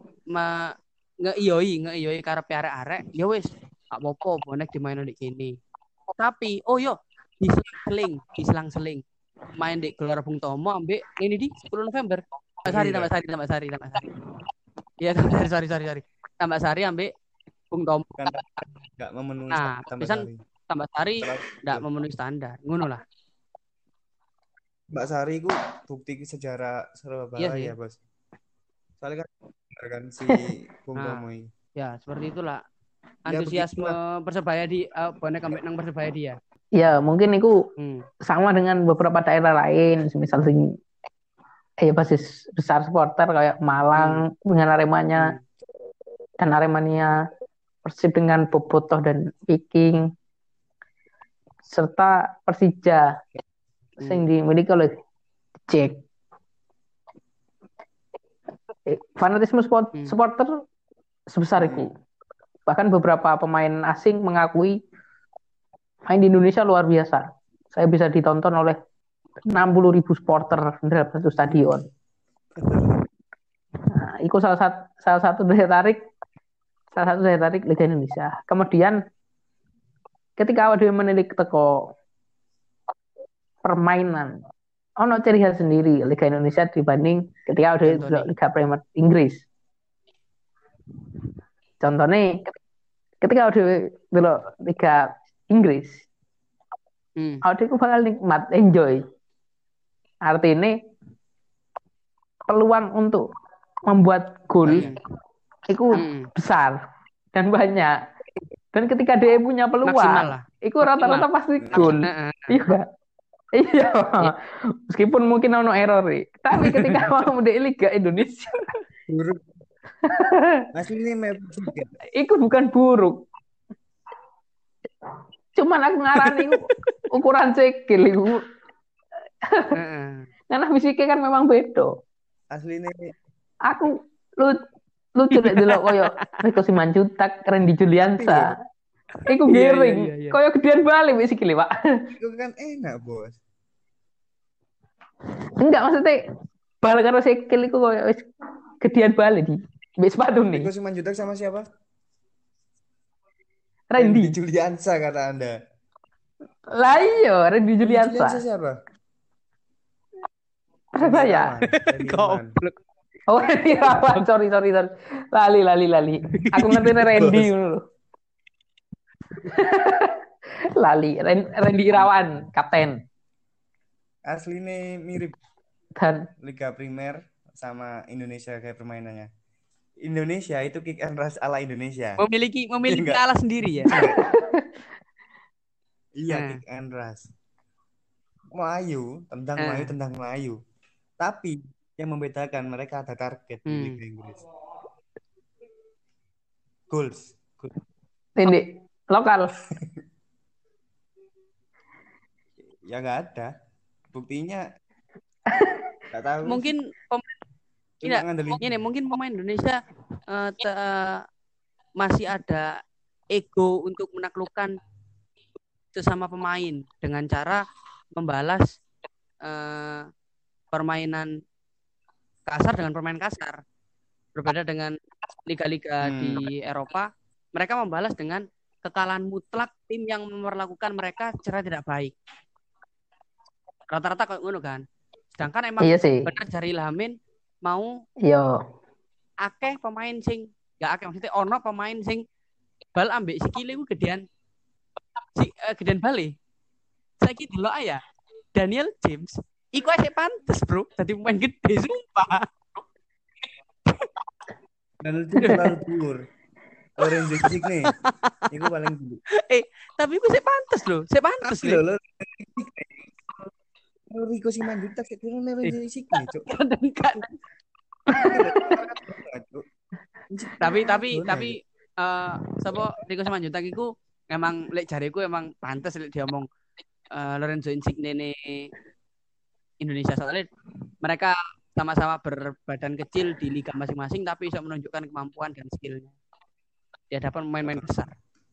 ngeiyoi karepe arek-arek, ya wis, gak apa-apa bonek dimainin di kene. Tapi diselang-seling main di Gelora Bung Tomo ambek ini di 10 November. Tambah Sari. Iya, sorry. Tambah Sari ambek Bung Tomo. Enggak memenuhi Tambah Sari enggak memenuhi standar. Ngono lah. Mbak Sari ku bukti sejarah Surabaya ya, Bos. Soalnya kan si Bung Tomo ini. Ya, seperti itulah. Antusiasme Persebaya di bonek ambek nang Persebaya dia. Ya, mungkin itu sama dengan beberapa daerah lain, misal basis besar supporter kayak Malang dengan Aremanya dan Aremania, Persib dengan Bobotoh dan Viking, serta Persija yang dimiliki oleh Jack. Fanatisme supporter sebesar itu. Bahkan beberapa pemain asing mengakui main di Indonesia luar biasa. Saya bisa ditonton oleh 60.000 supporter dalam satu stadion. Nah, itu salah satu daya tarik Liga Indonesia. Kemudian ketika awak menilik teko permainan, ono ciri khas sendiri Liga Indonesia dibanding ketika udah Liga Premier Inggris. Contohnya ketika udah dulu Liga Inggris, aku bakal nikmat, enjoy. Artinya peluang untuk membuat gol itu besar dan banyak. Dan ketika dia punya peluang, itu rata-rata pasti gol. Iya. Meskipun mungkin ono error, tapi ketika mau di Liga Indonesia, aslinya itu bukan buruk. Cuman aku ngarani ukuran cekil itu. Karena fisiknya kan memang beda. Aslinya aku lucu deh delok koyo Rico Simanjuntak, Randy Juliansa. Iku giring. Koyo gedean balik wis sikile, Pak. Itu kan enak, Bos. Enggak, maksudnya bal karo sikil iku koyo wis gedean balik di wis sepatu nih. Rico Simanjuntak sama siapa? Randy Juliansa kata Anda. Lah iya, Randy Juliansa. Juliansa siapa? Saya. Goblok. Oh, Irawan, sorry. Lali. Aku ngerti Randy dulu. Lali, Randy Irawan, kapten. Aslinya mirip. Dan Liga Primer sama Indonesia kayak permainannya. Indonesia itu kick and rush ala Indonesia. Memiliki Enggak. alas sendiri ya. Iya, Nah. kick and rush. Tendang Melayu. Tapi yang membedakan mereka ada target di Liga Inggris. Goals. Ini lokal. Ya nggak ada. Buktinya nggak tahu. Mungkin mungkin pemain Indonesia masih ada ego untuk menaklukkan sesama pemain dengan cara membalas permainan kasar dengan permainan kasar. Berbeda dengan liga-liga di Eropa, mereka membalas dengan kekalahan mutlak tim yang memperlakukan mereka secara tidak baik. Rata-rata kayak ngono kan. Sedangkan emang benar Jari Lamin mau akeh pemain sing gak akeh, maksudnya ono pemain sing bal ambek sikile ku gedean bale. Saiki delok ya Daniel James iku asik pantes, Bro. Dadi pemain gede sumpah. Dan itu terlalu dhuwur. Lorenzo Insigne iku paling dulu. Tapi iku sik pantes lho, lho. Rico Simanjuntak sik kira Lorenzo Insigne, Cuk. Tapi sapa Rico Simanjuntak iku emang lek jareku emang pantes lek diomong Lorenzo Insigne ne Indonesia, soalnya mereka sama-sama berbadan kecil di liga masing-masing tapi bisa menunjukkan kemampuan dan skillnya di hadapan pemain-pemain besar.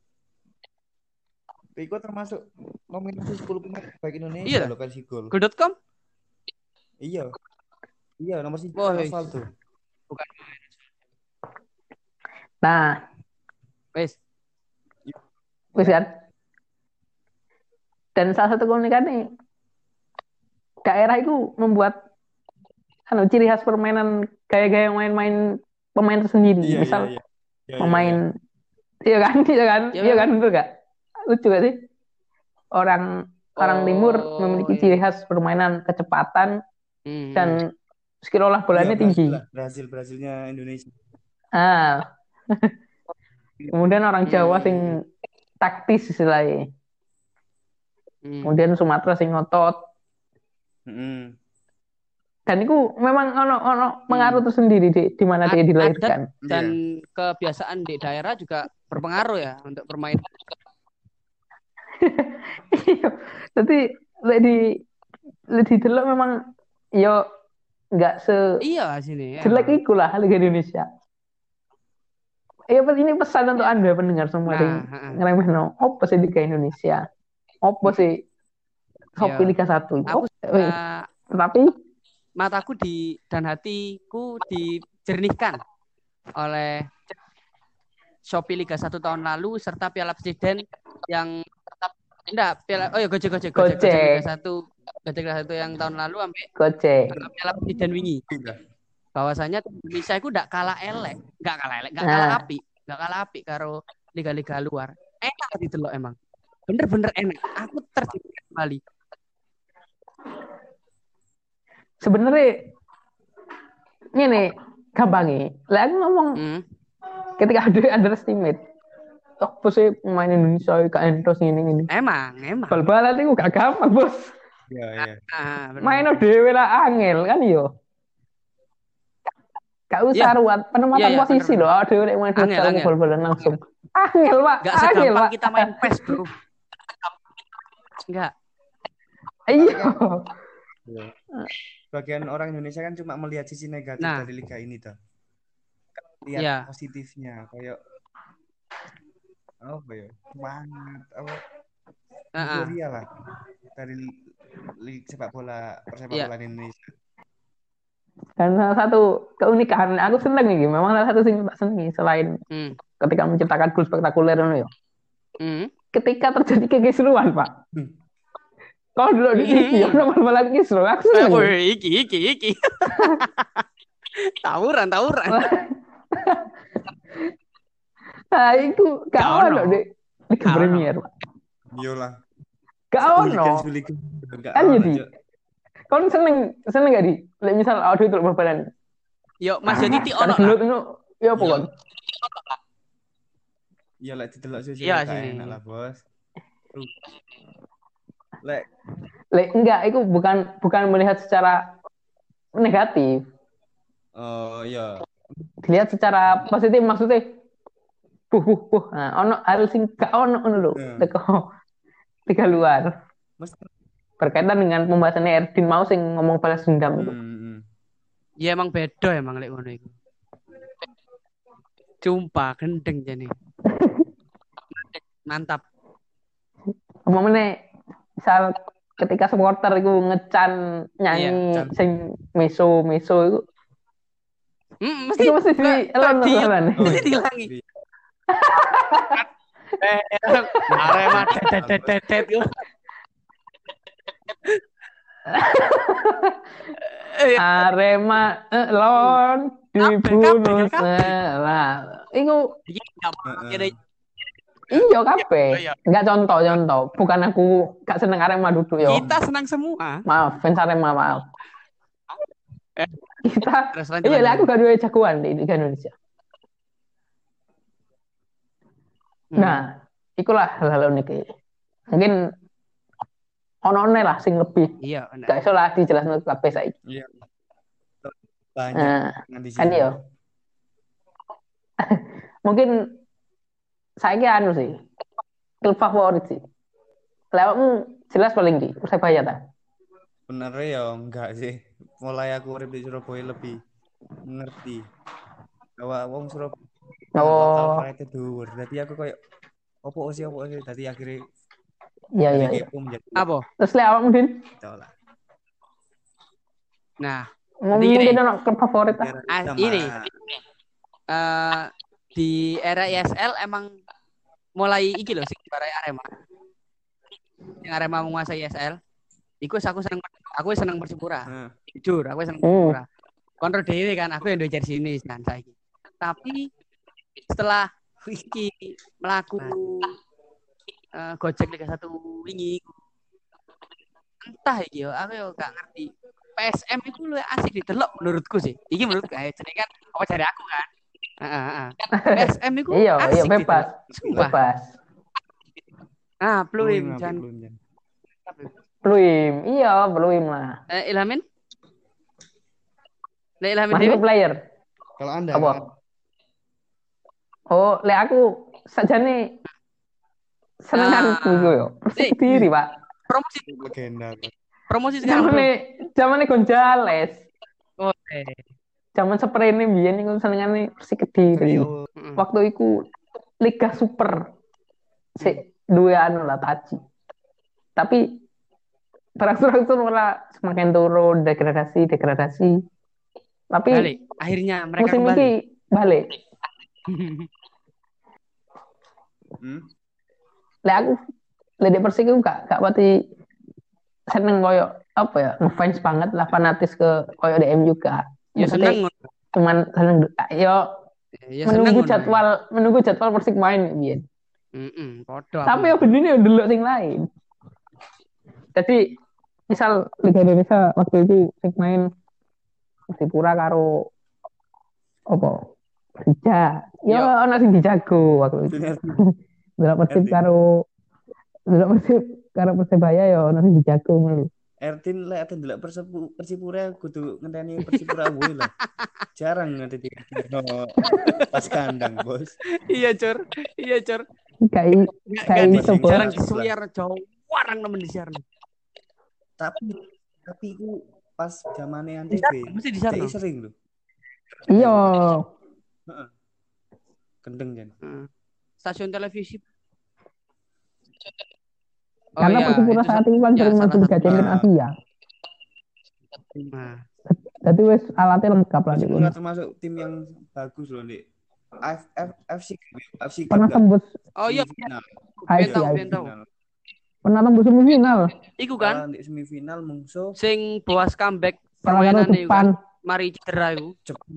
Rico termasuk nominasi 10 pemain terbaik Indonesia loh versi gol. Goal.com? Iya, nomor 1 tuh. Bukan. Nah, wis kan. Dan salah satu keunikan nih, daerah itu membuat ciri khas permainan gaya-gaya main-main pemain tersendiri. Misal pemain iya kan betul gak? Lucu gak sih? Orang timur memiliki ciri khas permainan kecepatan dan skill olah bolanya tinggi. Brasilnya Indonesia. Kemudian orang Jawa sing taktis istilahnya. Kemudian Sumatera sing ngotot. Dan itu memang ono pengaruh tersendiri di mana dia dilahirkan. Dan kebiasaan di daerah juga berpengaruh ya untuk permainan. Jadi di delok memang yo enggak sini jelek iku lah Liga Indonesia. Ini pesan untuk Anda pendengar semua yang ngeremehno opo sih Liga Indonesia. Opo sih Shopee Liga 1. Tapi mataku dan hatiku dijernihkan oleh Shopee Liga 1 tahun lalu serta Piala Presiden yang Gojek Liga 1 yang tahun lalu sampai Gojek Piala Presiden wingi. Bahwasanya Indonesia itu enggak kalah api karo liga-liga luar. Enak didelok emang. Bener-bener enak. Aku terjebak kembali. Sebenarnya ini gampangnya. Lah aku ngomong ketika ada underestimate. Apa sih pemain Indonesia gak entos ini. Emang. Bal-balan itu gak gampang, Bos. Iya. Main dhewe lah angel kan yo. Gak usah ruwet penempatan posisi loh. Dhewe nek main bal-balan langsung. Angel, Pak. Gak segampang kita main PES, Bro. Enggak. Iya. Bagian orang Indonesia kan cuma melihat sisi negatif dari liga ini toh. Lihat positifnya kayak semangat euforia lah dari sepak bola Indonesia. Dan salah satu keunikan aku seneng nih, memang salah satu yang tak seneng selain ketika menciptakan gol spektakuler ya. Ketika terjadi kekeseruan, Pak. Kau dulu di iki, nomor malam kisru, aku seneng. Iki. Tawuran. Nah, itu gak ono di Premier, Pak. Iyalah. Gak ono. Kan jadi. Kau seneng gak di? Misal audio itu berbadan. Yo Mas yo titik ono Karena gelut lah. itu ya apa Iya. kon? Ya lek didelok sih Iya gak sini. enak lah, Bos. Lek Enggak, itu bukan melihat secara negatif. oh iya. Dilihat secara positif maksudnya. Nah, ono hal sing gak ono ngono lho. Teko tiga luar. Mesti Berkaitan dengan pembahasannya Erdin mau sing ngomong balas dendam itu. Ya emang beda emang lek ngono iku. Jumpa gendeng jane. Mantap. Umumnya misal ketika supporter itu ngecan nyanyi Iya, sing meso itu Mesti itu mesti di elon di elon. mesti dilangi. Arema tetet yo. Arema elon dibunuh lah. Iku iya kabeh. Enggak contoh. Bukan aku gak seneng Arema duduk yo. Kita senang semua. Maaf, fans Arema maaf. Kita Terus lanjut. iya aku gak duwe jagoan di Liga Indonesia. Nah, ikulah hal-hal unik. Mungkin ono-one lah sing lebih. Iya, gak iso lah dijelasno kabeh saiki. Iya. Banyak nah, kan yo. Mungkin saiki anu sih. Klub favorit sih. Lewatmu jelas paling di Persebaya ta? Bener ya enggak sih. Mulai aku urip di Surabaya lebih ngerti bahwa wong Surabaya lokal pride dhuwur. Dadi aku koyo opo sih dadi akhirnya iya. Apa? Terus lek awakmu Din? Itulah. Nah, mungkin ono klub favorit ini di era ISL emang mulai iki loh sing barai Arema. Yang Arema menguasai ISL. Iku aku seneng Persipura. Jujur, aku seneng Persipura. Kontrol dhewe kan aku yang duwe jersey ini kan saiki. Tapi setelah iki melaku Gojek Liga 1 wingi entah iki yo aku yo gak ngerti. PSM itu lu asik didelok menurutku sih. Iki menurutku jenenge kan apa jare aku kan. PSM itu iya bebas. Bebas. Pluim jan. Pluim. Iya, Pluim lah. Ilhamin? Ilhamin Masih player. Kalau Anda apa? Oh, lek aku sajane senenganku yo. Persik Pak. Promosi legenda. Promosi sekarang. Zamane Gonzales. Oke. Zaman seprene biyen iku senengane Persik Kediri. Waktu iku Liga Super. Duwe anu lah Taji. Tapi berangsur-angsur malah semakin turun degradasi. Tapi balik. Akhirnya mereka musim kembali. Ini balik. Lek aku Lek Persik iku gak pati seneng koyo apa ya, ngefans banget lah, fanatis ke koyo DM juga. Ya seneng. Cuman seneng menunggu jadwal Persik main biyen. Tapi ya bener ndelok sing lain. Jadi misal Liga Indonesia waktu itu Persik main Persipura karo apa? Persija. Ya ono sing dijago waktu itu. Delok Persib karo Persebaya ya ono sing dijago ngono. Erdin lek ate ndelok Persipura kudu ngenteni Persipura kuwi lah. Jarang ngenteni pas kandang, Bos. Iya, Cur. Kayak jarang disuar jauh warang nemen disiar. Tapi ku pas zamane Antv mesti disiar sering lho. Iya. Heeh. Kendeng jan. Stasiun televisi. Karena Persipura saat ini kan sering masuk Liga Champions Asia. Jadi wes alatnya lengkap lah. Persipura termasuk tim yang bagus loh, Dik. FC pernah tembus. Oh iya. Pernah tembus semifinal. Iku kan? Di semifinal mungsuh sing boas comeback permainan iku kan. Mari cedera iku.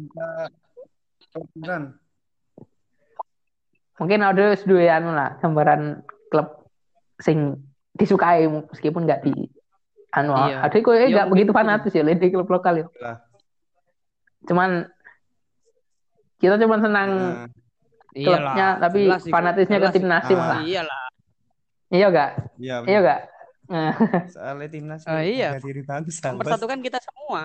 Jepang. Mungkin ada duwe anu lah gambaran klub sing disukai meskipun enggak di anu. Ada kok enggak begitu fanatis ya di klub lokal itu. Cuman Kita cuma senang Nah, klubnya, Iyalah, tapi jelas iku. fanatisnya ke Jelas tim iku. nasi ah, malah. Iyalah. Iya gak? iya Iya benar. gak? Nah, Soalnya timnas Oh, iya, harga diri bangsa, bos. mempersatukan kita semua.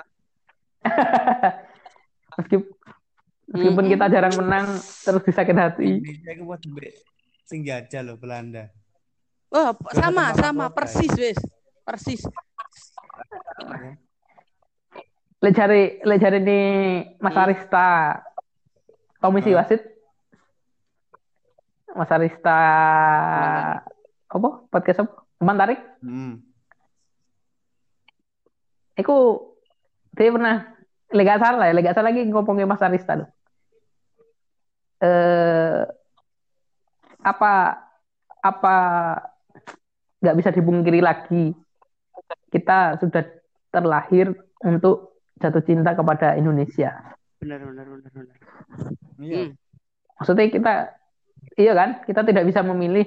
meskipun meskipun kita jarang menang, terus disakit hati. Indonesia itu buat sing jajah loh Belanda. Oh, Juara sama tanpa sama mahkota, persis wes. Persis. ya. Lek cari nih Mas Hmm. Arista komisi Hah? wasit, Mas Arista apa podcast apa? Teman tarik. Hmm. Iku dia pernah lega salah lagi ngomongin Mas Arista loh. Eh apa apa nggak bisa dipungkiri lagi, kita sudah terlahir untuk jatuh cinta kepada Indonesia. Benar, benar, benar, benar. Iya. Hmm. Maksudnya kita, iya kan, kita tidak bisa memilih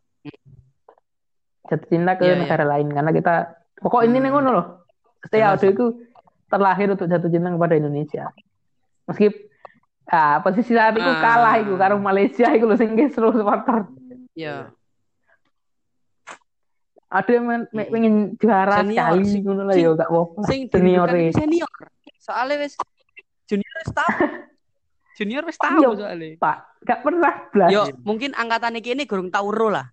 jatuh cinta ke Iya, iya. negara lain karena kita pokok ini nih ngono loh. Setiap Jelas. itu terlahir untuk jatuh cinta kepada Indonesia. Meskipun posisi saat itu kalah itu karo Malaysia itu loh sing seluruh supporter. Iya. Ada yang pengen juara Senior, sekali ngono lah ya gak apa-apa. Sing Senior dirindukan itu senior. Soalnya wes junior wes tahu. Junior wes tahu Iya, soalnya. Pak, gak pernah blas. Yo, mungkin angkatan ini gurung tahu ro lah.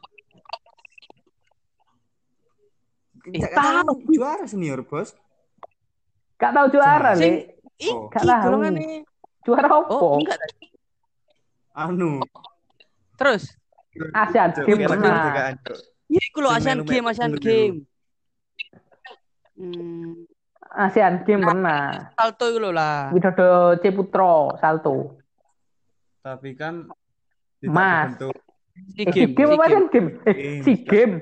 Tahu juara senior, bos. Gak tahu juara, Sing Le. Oh. Gak iki tahu. golongane. Juara apa? Oh, enggak. Anu. Terus Asian Games pernah. ya iku lho Sing Asian melu- Game, Asian melu- Game. Asian Games pernah. Salto iku lho lah. Widodo Ceputro salto. Tapi kan Mas. bentuk Si Si game, game apa Asian Game? Si game.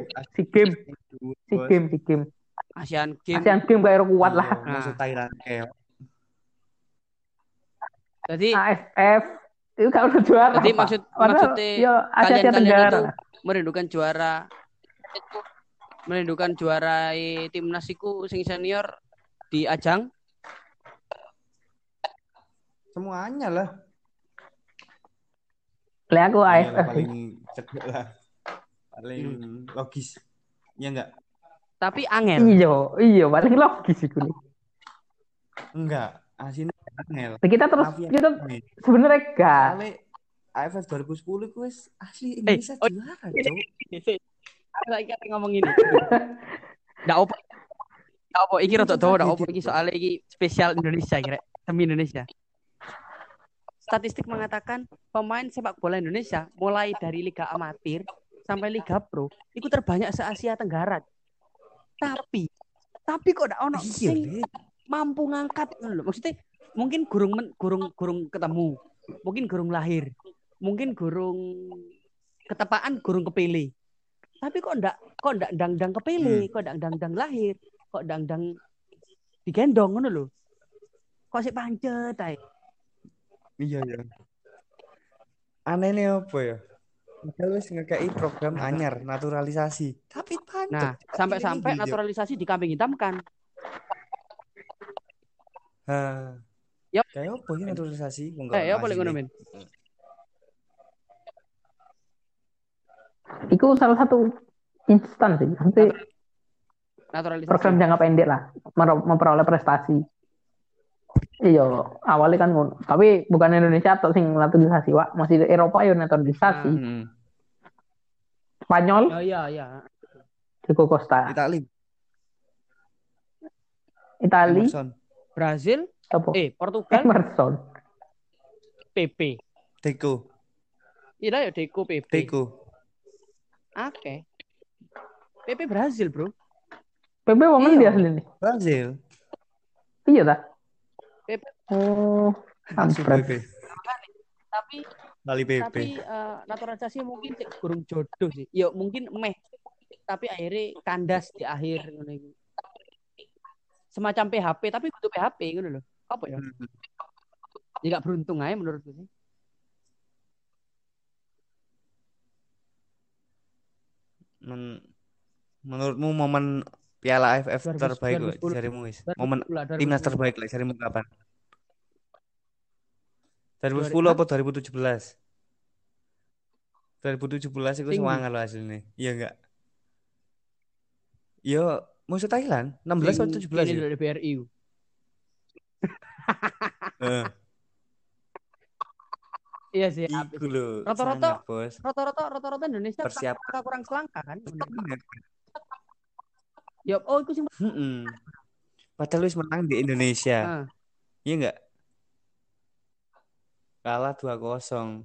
Asian Game. Asian Game kayak kuat lah. Masuk Thailand kayak. Jadi AFF itu kalau udah juara. Jadi Pak. maksudnya ya Asia Tenggara. itu merindukan juara timnas iku sing senior di ajang Semuanya lah. Lah aku AFF. Paling cedek lah. Paling logis. Ya enggak? tapi angel. Iya, paling logis itu. Enggak, aslinya angel. Kita sebenarnya gak. Soalnya AFF 2010 itu asli Indonesia juara, Cok. Aku lagi ngomong ini. Ndak opo. Ndak opo iki rada dawa, ndak opo iki soalnya iki spesial Indonesia kira, demi Indonesia. Statistik mengatakan pemain sepak bola Indonesia mulai dari liga amatir sampai liga pro itu terbanyak se-Asia Tenggara. Tapi kok ndak ono sing mampu ngangkat lho. Maksudnya mungkin gurung ketemu, mungkin gurung lahir, mungkin gurung ketepaan, gurung kepilih. Tapi kok ndak dang kepilih, kok ndak dang lahir, kok dang digendong ngono lho. Kok sik pancet ae. Iya ya. Anehnya apa ya? Kita wis ngekei program anyar naturalisasi. Tapi pancet. Nah, sampai naturalisasi dikambing hitamkan. Yap. Kayak apa ya naturalisasi? Ya boleh ngono men. Itu salah satu instan sih. Nanti Naturalisasi. program jangka pendek lah, memperoleh prestasi. Iya, awalnya kan ngono. Tapi bukan Indonesia atau sing naturalisasi, Wak. Masih Eropa ya naturalisasi. Spanyol. Oh iya. Diego Costa. Itali. Brazil. Apa? Portugal. Emerson. PP. Deco. Iya ya Deco PP. Deco. Oke. PP Brazil, Bro. PP wong ngendi asli nih? Brazil. Iya ta? PP. Oh, Langsung PP. Tapi naturalisasi mungkin kurang jodoh sih. Ya mungkin tapi akhirnya kandas di akhir ngono iki. Semacam PHP tapi butuh PHP ngono lho. Apa ya? Jika beruntung aja menurutku sih. Menurutmu momen Piala AFF terbaik jarimu wis? Momen timnas terbaik lah jarimu kapan? 2010 apa 2017? 2017 itu semangat loh hasilnya. Iya enggak? Yo, musuh Thailand 16 atau 17 Ini ya? dari BRI. Heeh. Iya sih. Iku lho, Rata-rata sangat, Bos. rata-rata Indonesia Persiapan. kurang selangkah kan. Bener. Ya, oh itu sih. Padahal wis menang di Indonesia. Iya enggak? Kalah 2-0.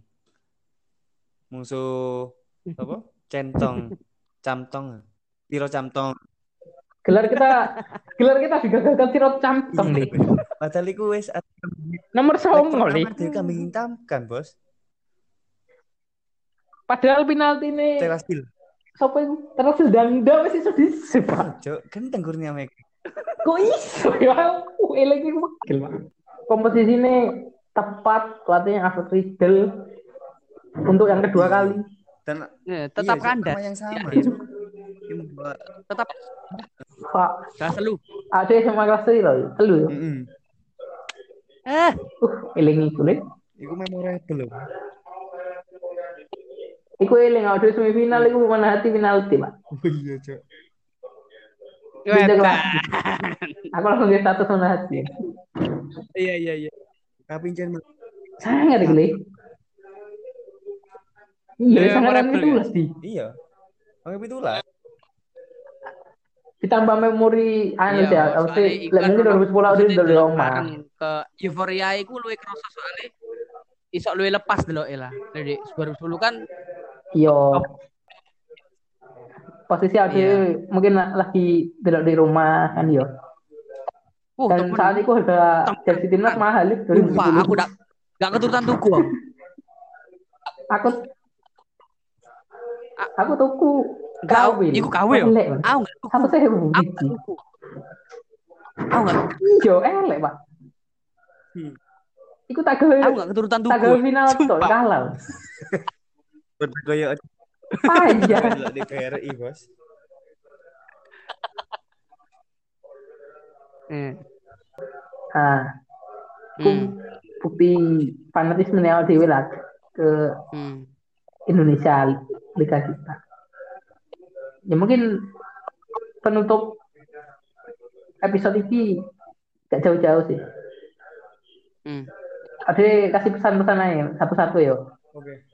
Musuh apa? Camtong. Piro Camtong. Gelar kita digagalkan Tirot Camtong nih. Padahal iku wis Nomor 9 nih. Dari kambing hitam kan, Bos. Padahal penalti ini Terasil. siapa itu? Terasil Dangda wis iso disebut. Cok, kan tenggurnya Mek. Kok iso ya? Elek iki wakil, Pak. Kompetisi ini tepat pelatihnya Alfred Riedel untuk yang kedua kali. Dan tetap kandas. Sama yang sama. Tetap Pak. Gak selu. Ada sama kelas loh, selu ya. Eling iku nih. Iku memorable loh. Iku eling ada semifinal iku mana hati penalti, Pak. Oh iya, Cok. Aku langsung di status mana hati. Iya. Tapi jangan sangat gede. Iya, sangat itu lah sih. Iya. Oke, itulah. Ditambah memori anu ya, mesti lek 2010 udah di omah. Ke euforia iku luwih kerasa soalnya iso luwih lepas deloke lah. Jadi 2010 kan iya. Posisi ada mungkin lagi delok di rumah kan yo. Dan saat itu ada jersey timnas mahal itu. Lupa, aku gak keturutan tuku. Aku tuku. Iku KW yo. Aku saya biji. Aku gak. Iya, elek, Pak. Iku tak gawe. Aku gak keturutan tuku. Tak gawe final tuh kalah. Bergaya aja di BRI, Bos. Bukti fanatisme awal dewe lah ke Indonesia Liga kita. Ya mungkin penutup episode ini gak jauh-jauh sih. Ada kasih pesan-pesan aja satu-satu ya. Oke.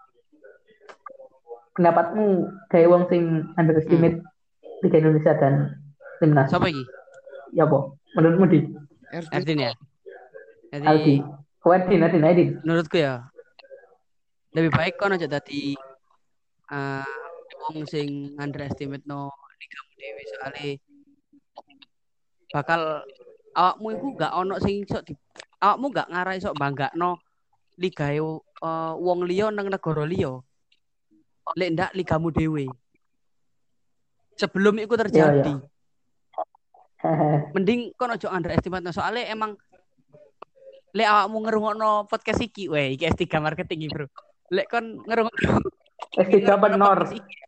Pendapatmu kayak wong sing underestimate Liga Indonesia dan timnas. Siapa lagi? Ya po. Menurutmu di? Erdin ya. Aldi. Erdin. Menurutku ya lebih baik kan aja tadi wong sing underestimate no ligamu dhewe soalnya bakal awakmu iku gak ono sing iso awakmu gak ngarai iso banggakno ligae wong liya nang negara liya. Lek ndak ligamu dhewe. Sebelum itu terjadi. Mending kon ojo underestimate soalnya emang lek awakmu ngerungokno podcast iki, iki S3 marketing iki, Bro. Lek kon ngerungokno S3 Benor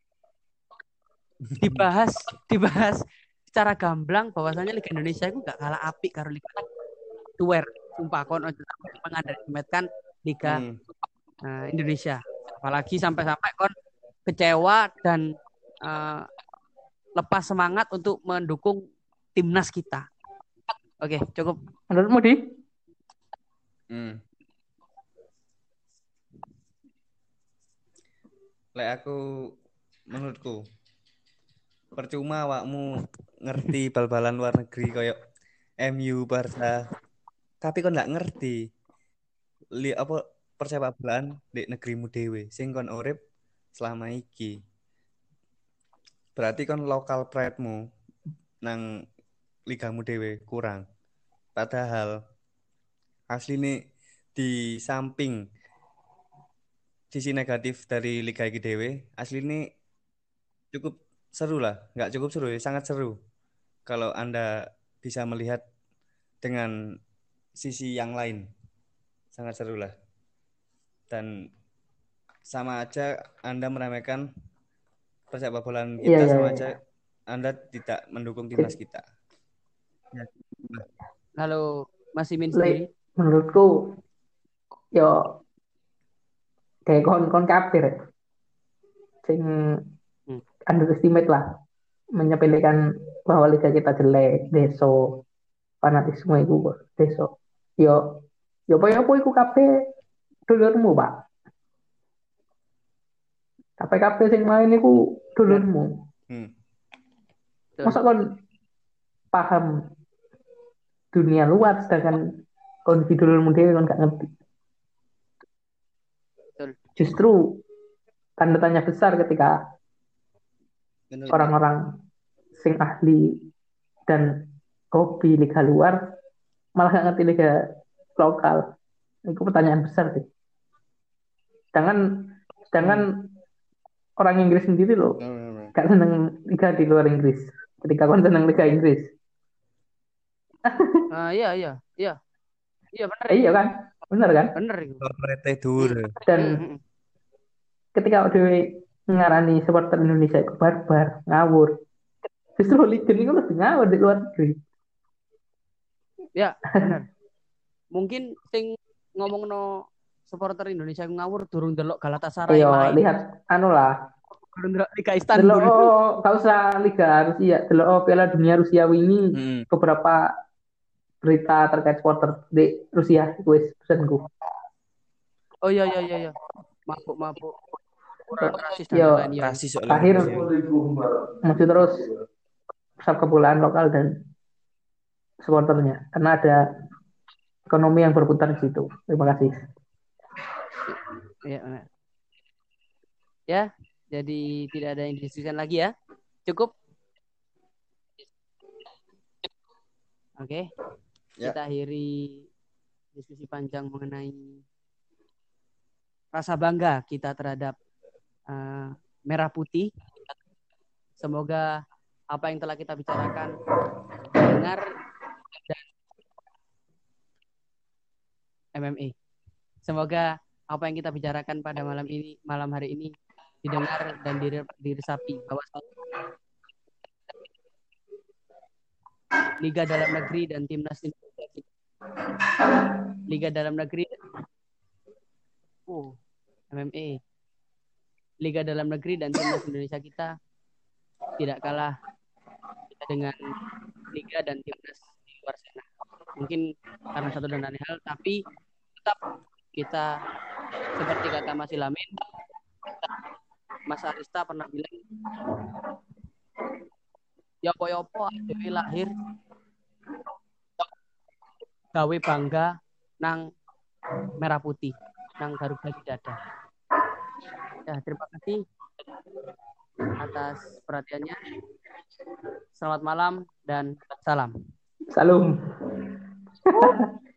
dibahas secara gamblang bahwasanya Liga Indonesia itu gak kalah apik karo Liga luar. Sumpah kon ojo mengunderestimate Liga Indonesia. Apalagi sampai kon kecewa dan lepas semangat untuk mendukung timnas kita. Oke, cukup. Menurutmu di? Menurutku percuma awakmu ngerti bal-balan luar negeri kayak MU, Barca, tapi kon nggak ngerti persepak bolaan di negerimu dhewe sing kon urip selama iki. Berarti kon lokal pride-mu nang ligamu dhewe kurang. Padahal asline di samping sisi negatif dari liga iki dhewe, asline cukup seru lah, nggak cukup seru, sangat seru kalau Anda bisa melihat dengan sisi yang lain, sangat seru lah. Dan sama aja Anda meremehkan persepak bolaan kita, sama aja Anda tidak mendukung timnas kita. Halo, Mas Imin sendiri. Menurutku yo kayak kon kafir sing Hmm. underestimate lah menyepelekan bahwa liga kita jelek deso fanatisme itu deso yo yo apa iku kabeh dulurmu pak kabeh sing main iku Benar. dulurmu Hmm. Betul. masa kon paham dunia luar sedangkan kon di dulurmu dhewe kon gak ngerti Betul. justru tanda tanya besar ketika Bener. orang-orang sing ahli dan hobi liga luar malah gak ngerti liga lokal. Itu pertanyaan besar sih. Sedangkan orang Inggris sendiri loh Bener. gak seneng liga di luar Inggris. Ketika kon seneng liga Inggris, Iya, iya, iya. Iya benar iya itu. kan, bener kan? Benar itu. Korporate dur. Dan Hmm. ketika Dewi ngarani supporter Indonesia itu barbar, ngawur. Justru hooligan itu lebih ngawur di luar negeri. Ya, benar. Mungkin sing ngomongno supporter Indonesia ngawur durung delok Galatasaray Ayo main. lihat anu lah. Durung delok Liga Delok Istanbul. gak usah Liga Rusia, delok Piala Dunia Rusia ini Hmm. beberapa berita terkait supporter di Rusia wis pesanku. Oh iya, iya, iya, iya. Mabuk. Kurang rasis dan Yo lain-lain. Iya, iya. Rasis soalnya terakhir Indonesia. masih terus sepak kebolaan lokal dan supporternya karena ada ekonomi yang berputar di situ. Terima kasih. Iya, benar. Ya, jadi tidak ada yang didiskusikan lagi ya. Cukup. Oke. Ya. Kita akhiri diskusi panjang mengenai rasa bangga kita terhadap merah putih. Semoga apa yang telah kita bicarakan didengar dan MMA. Semoga apa yang kita bicarakan pada malam hari ini didengar dan diresapi bahwa Liga dalam negeri dan timnas Indonesia. Liga dalam negeri MMA. Liga dalam negeri dan timnas Indonesia kita tidak kalah dengan liga dan timnas di luar sana. Mungkin karena satu dan lain hal, tapi tetap kita seperti kata Mas Ilamin, Mas Arista pernah bilang, yopo-yopo adewe lahir gawe bangga nang merah putih, nang Garuda di dada. Ya, terima kasih atas perhatiannya. Selamat malam dan salam. Salam.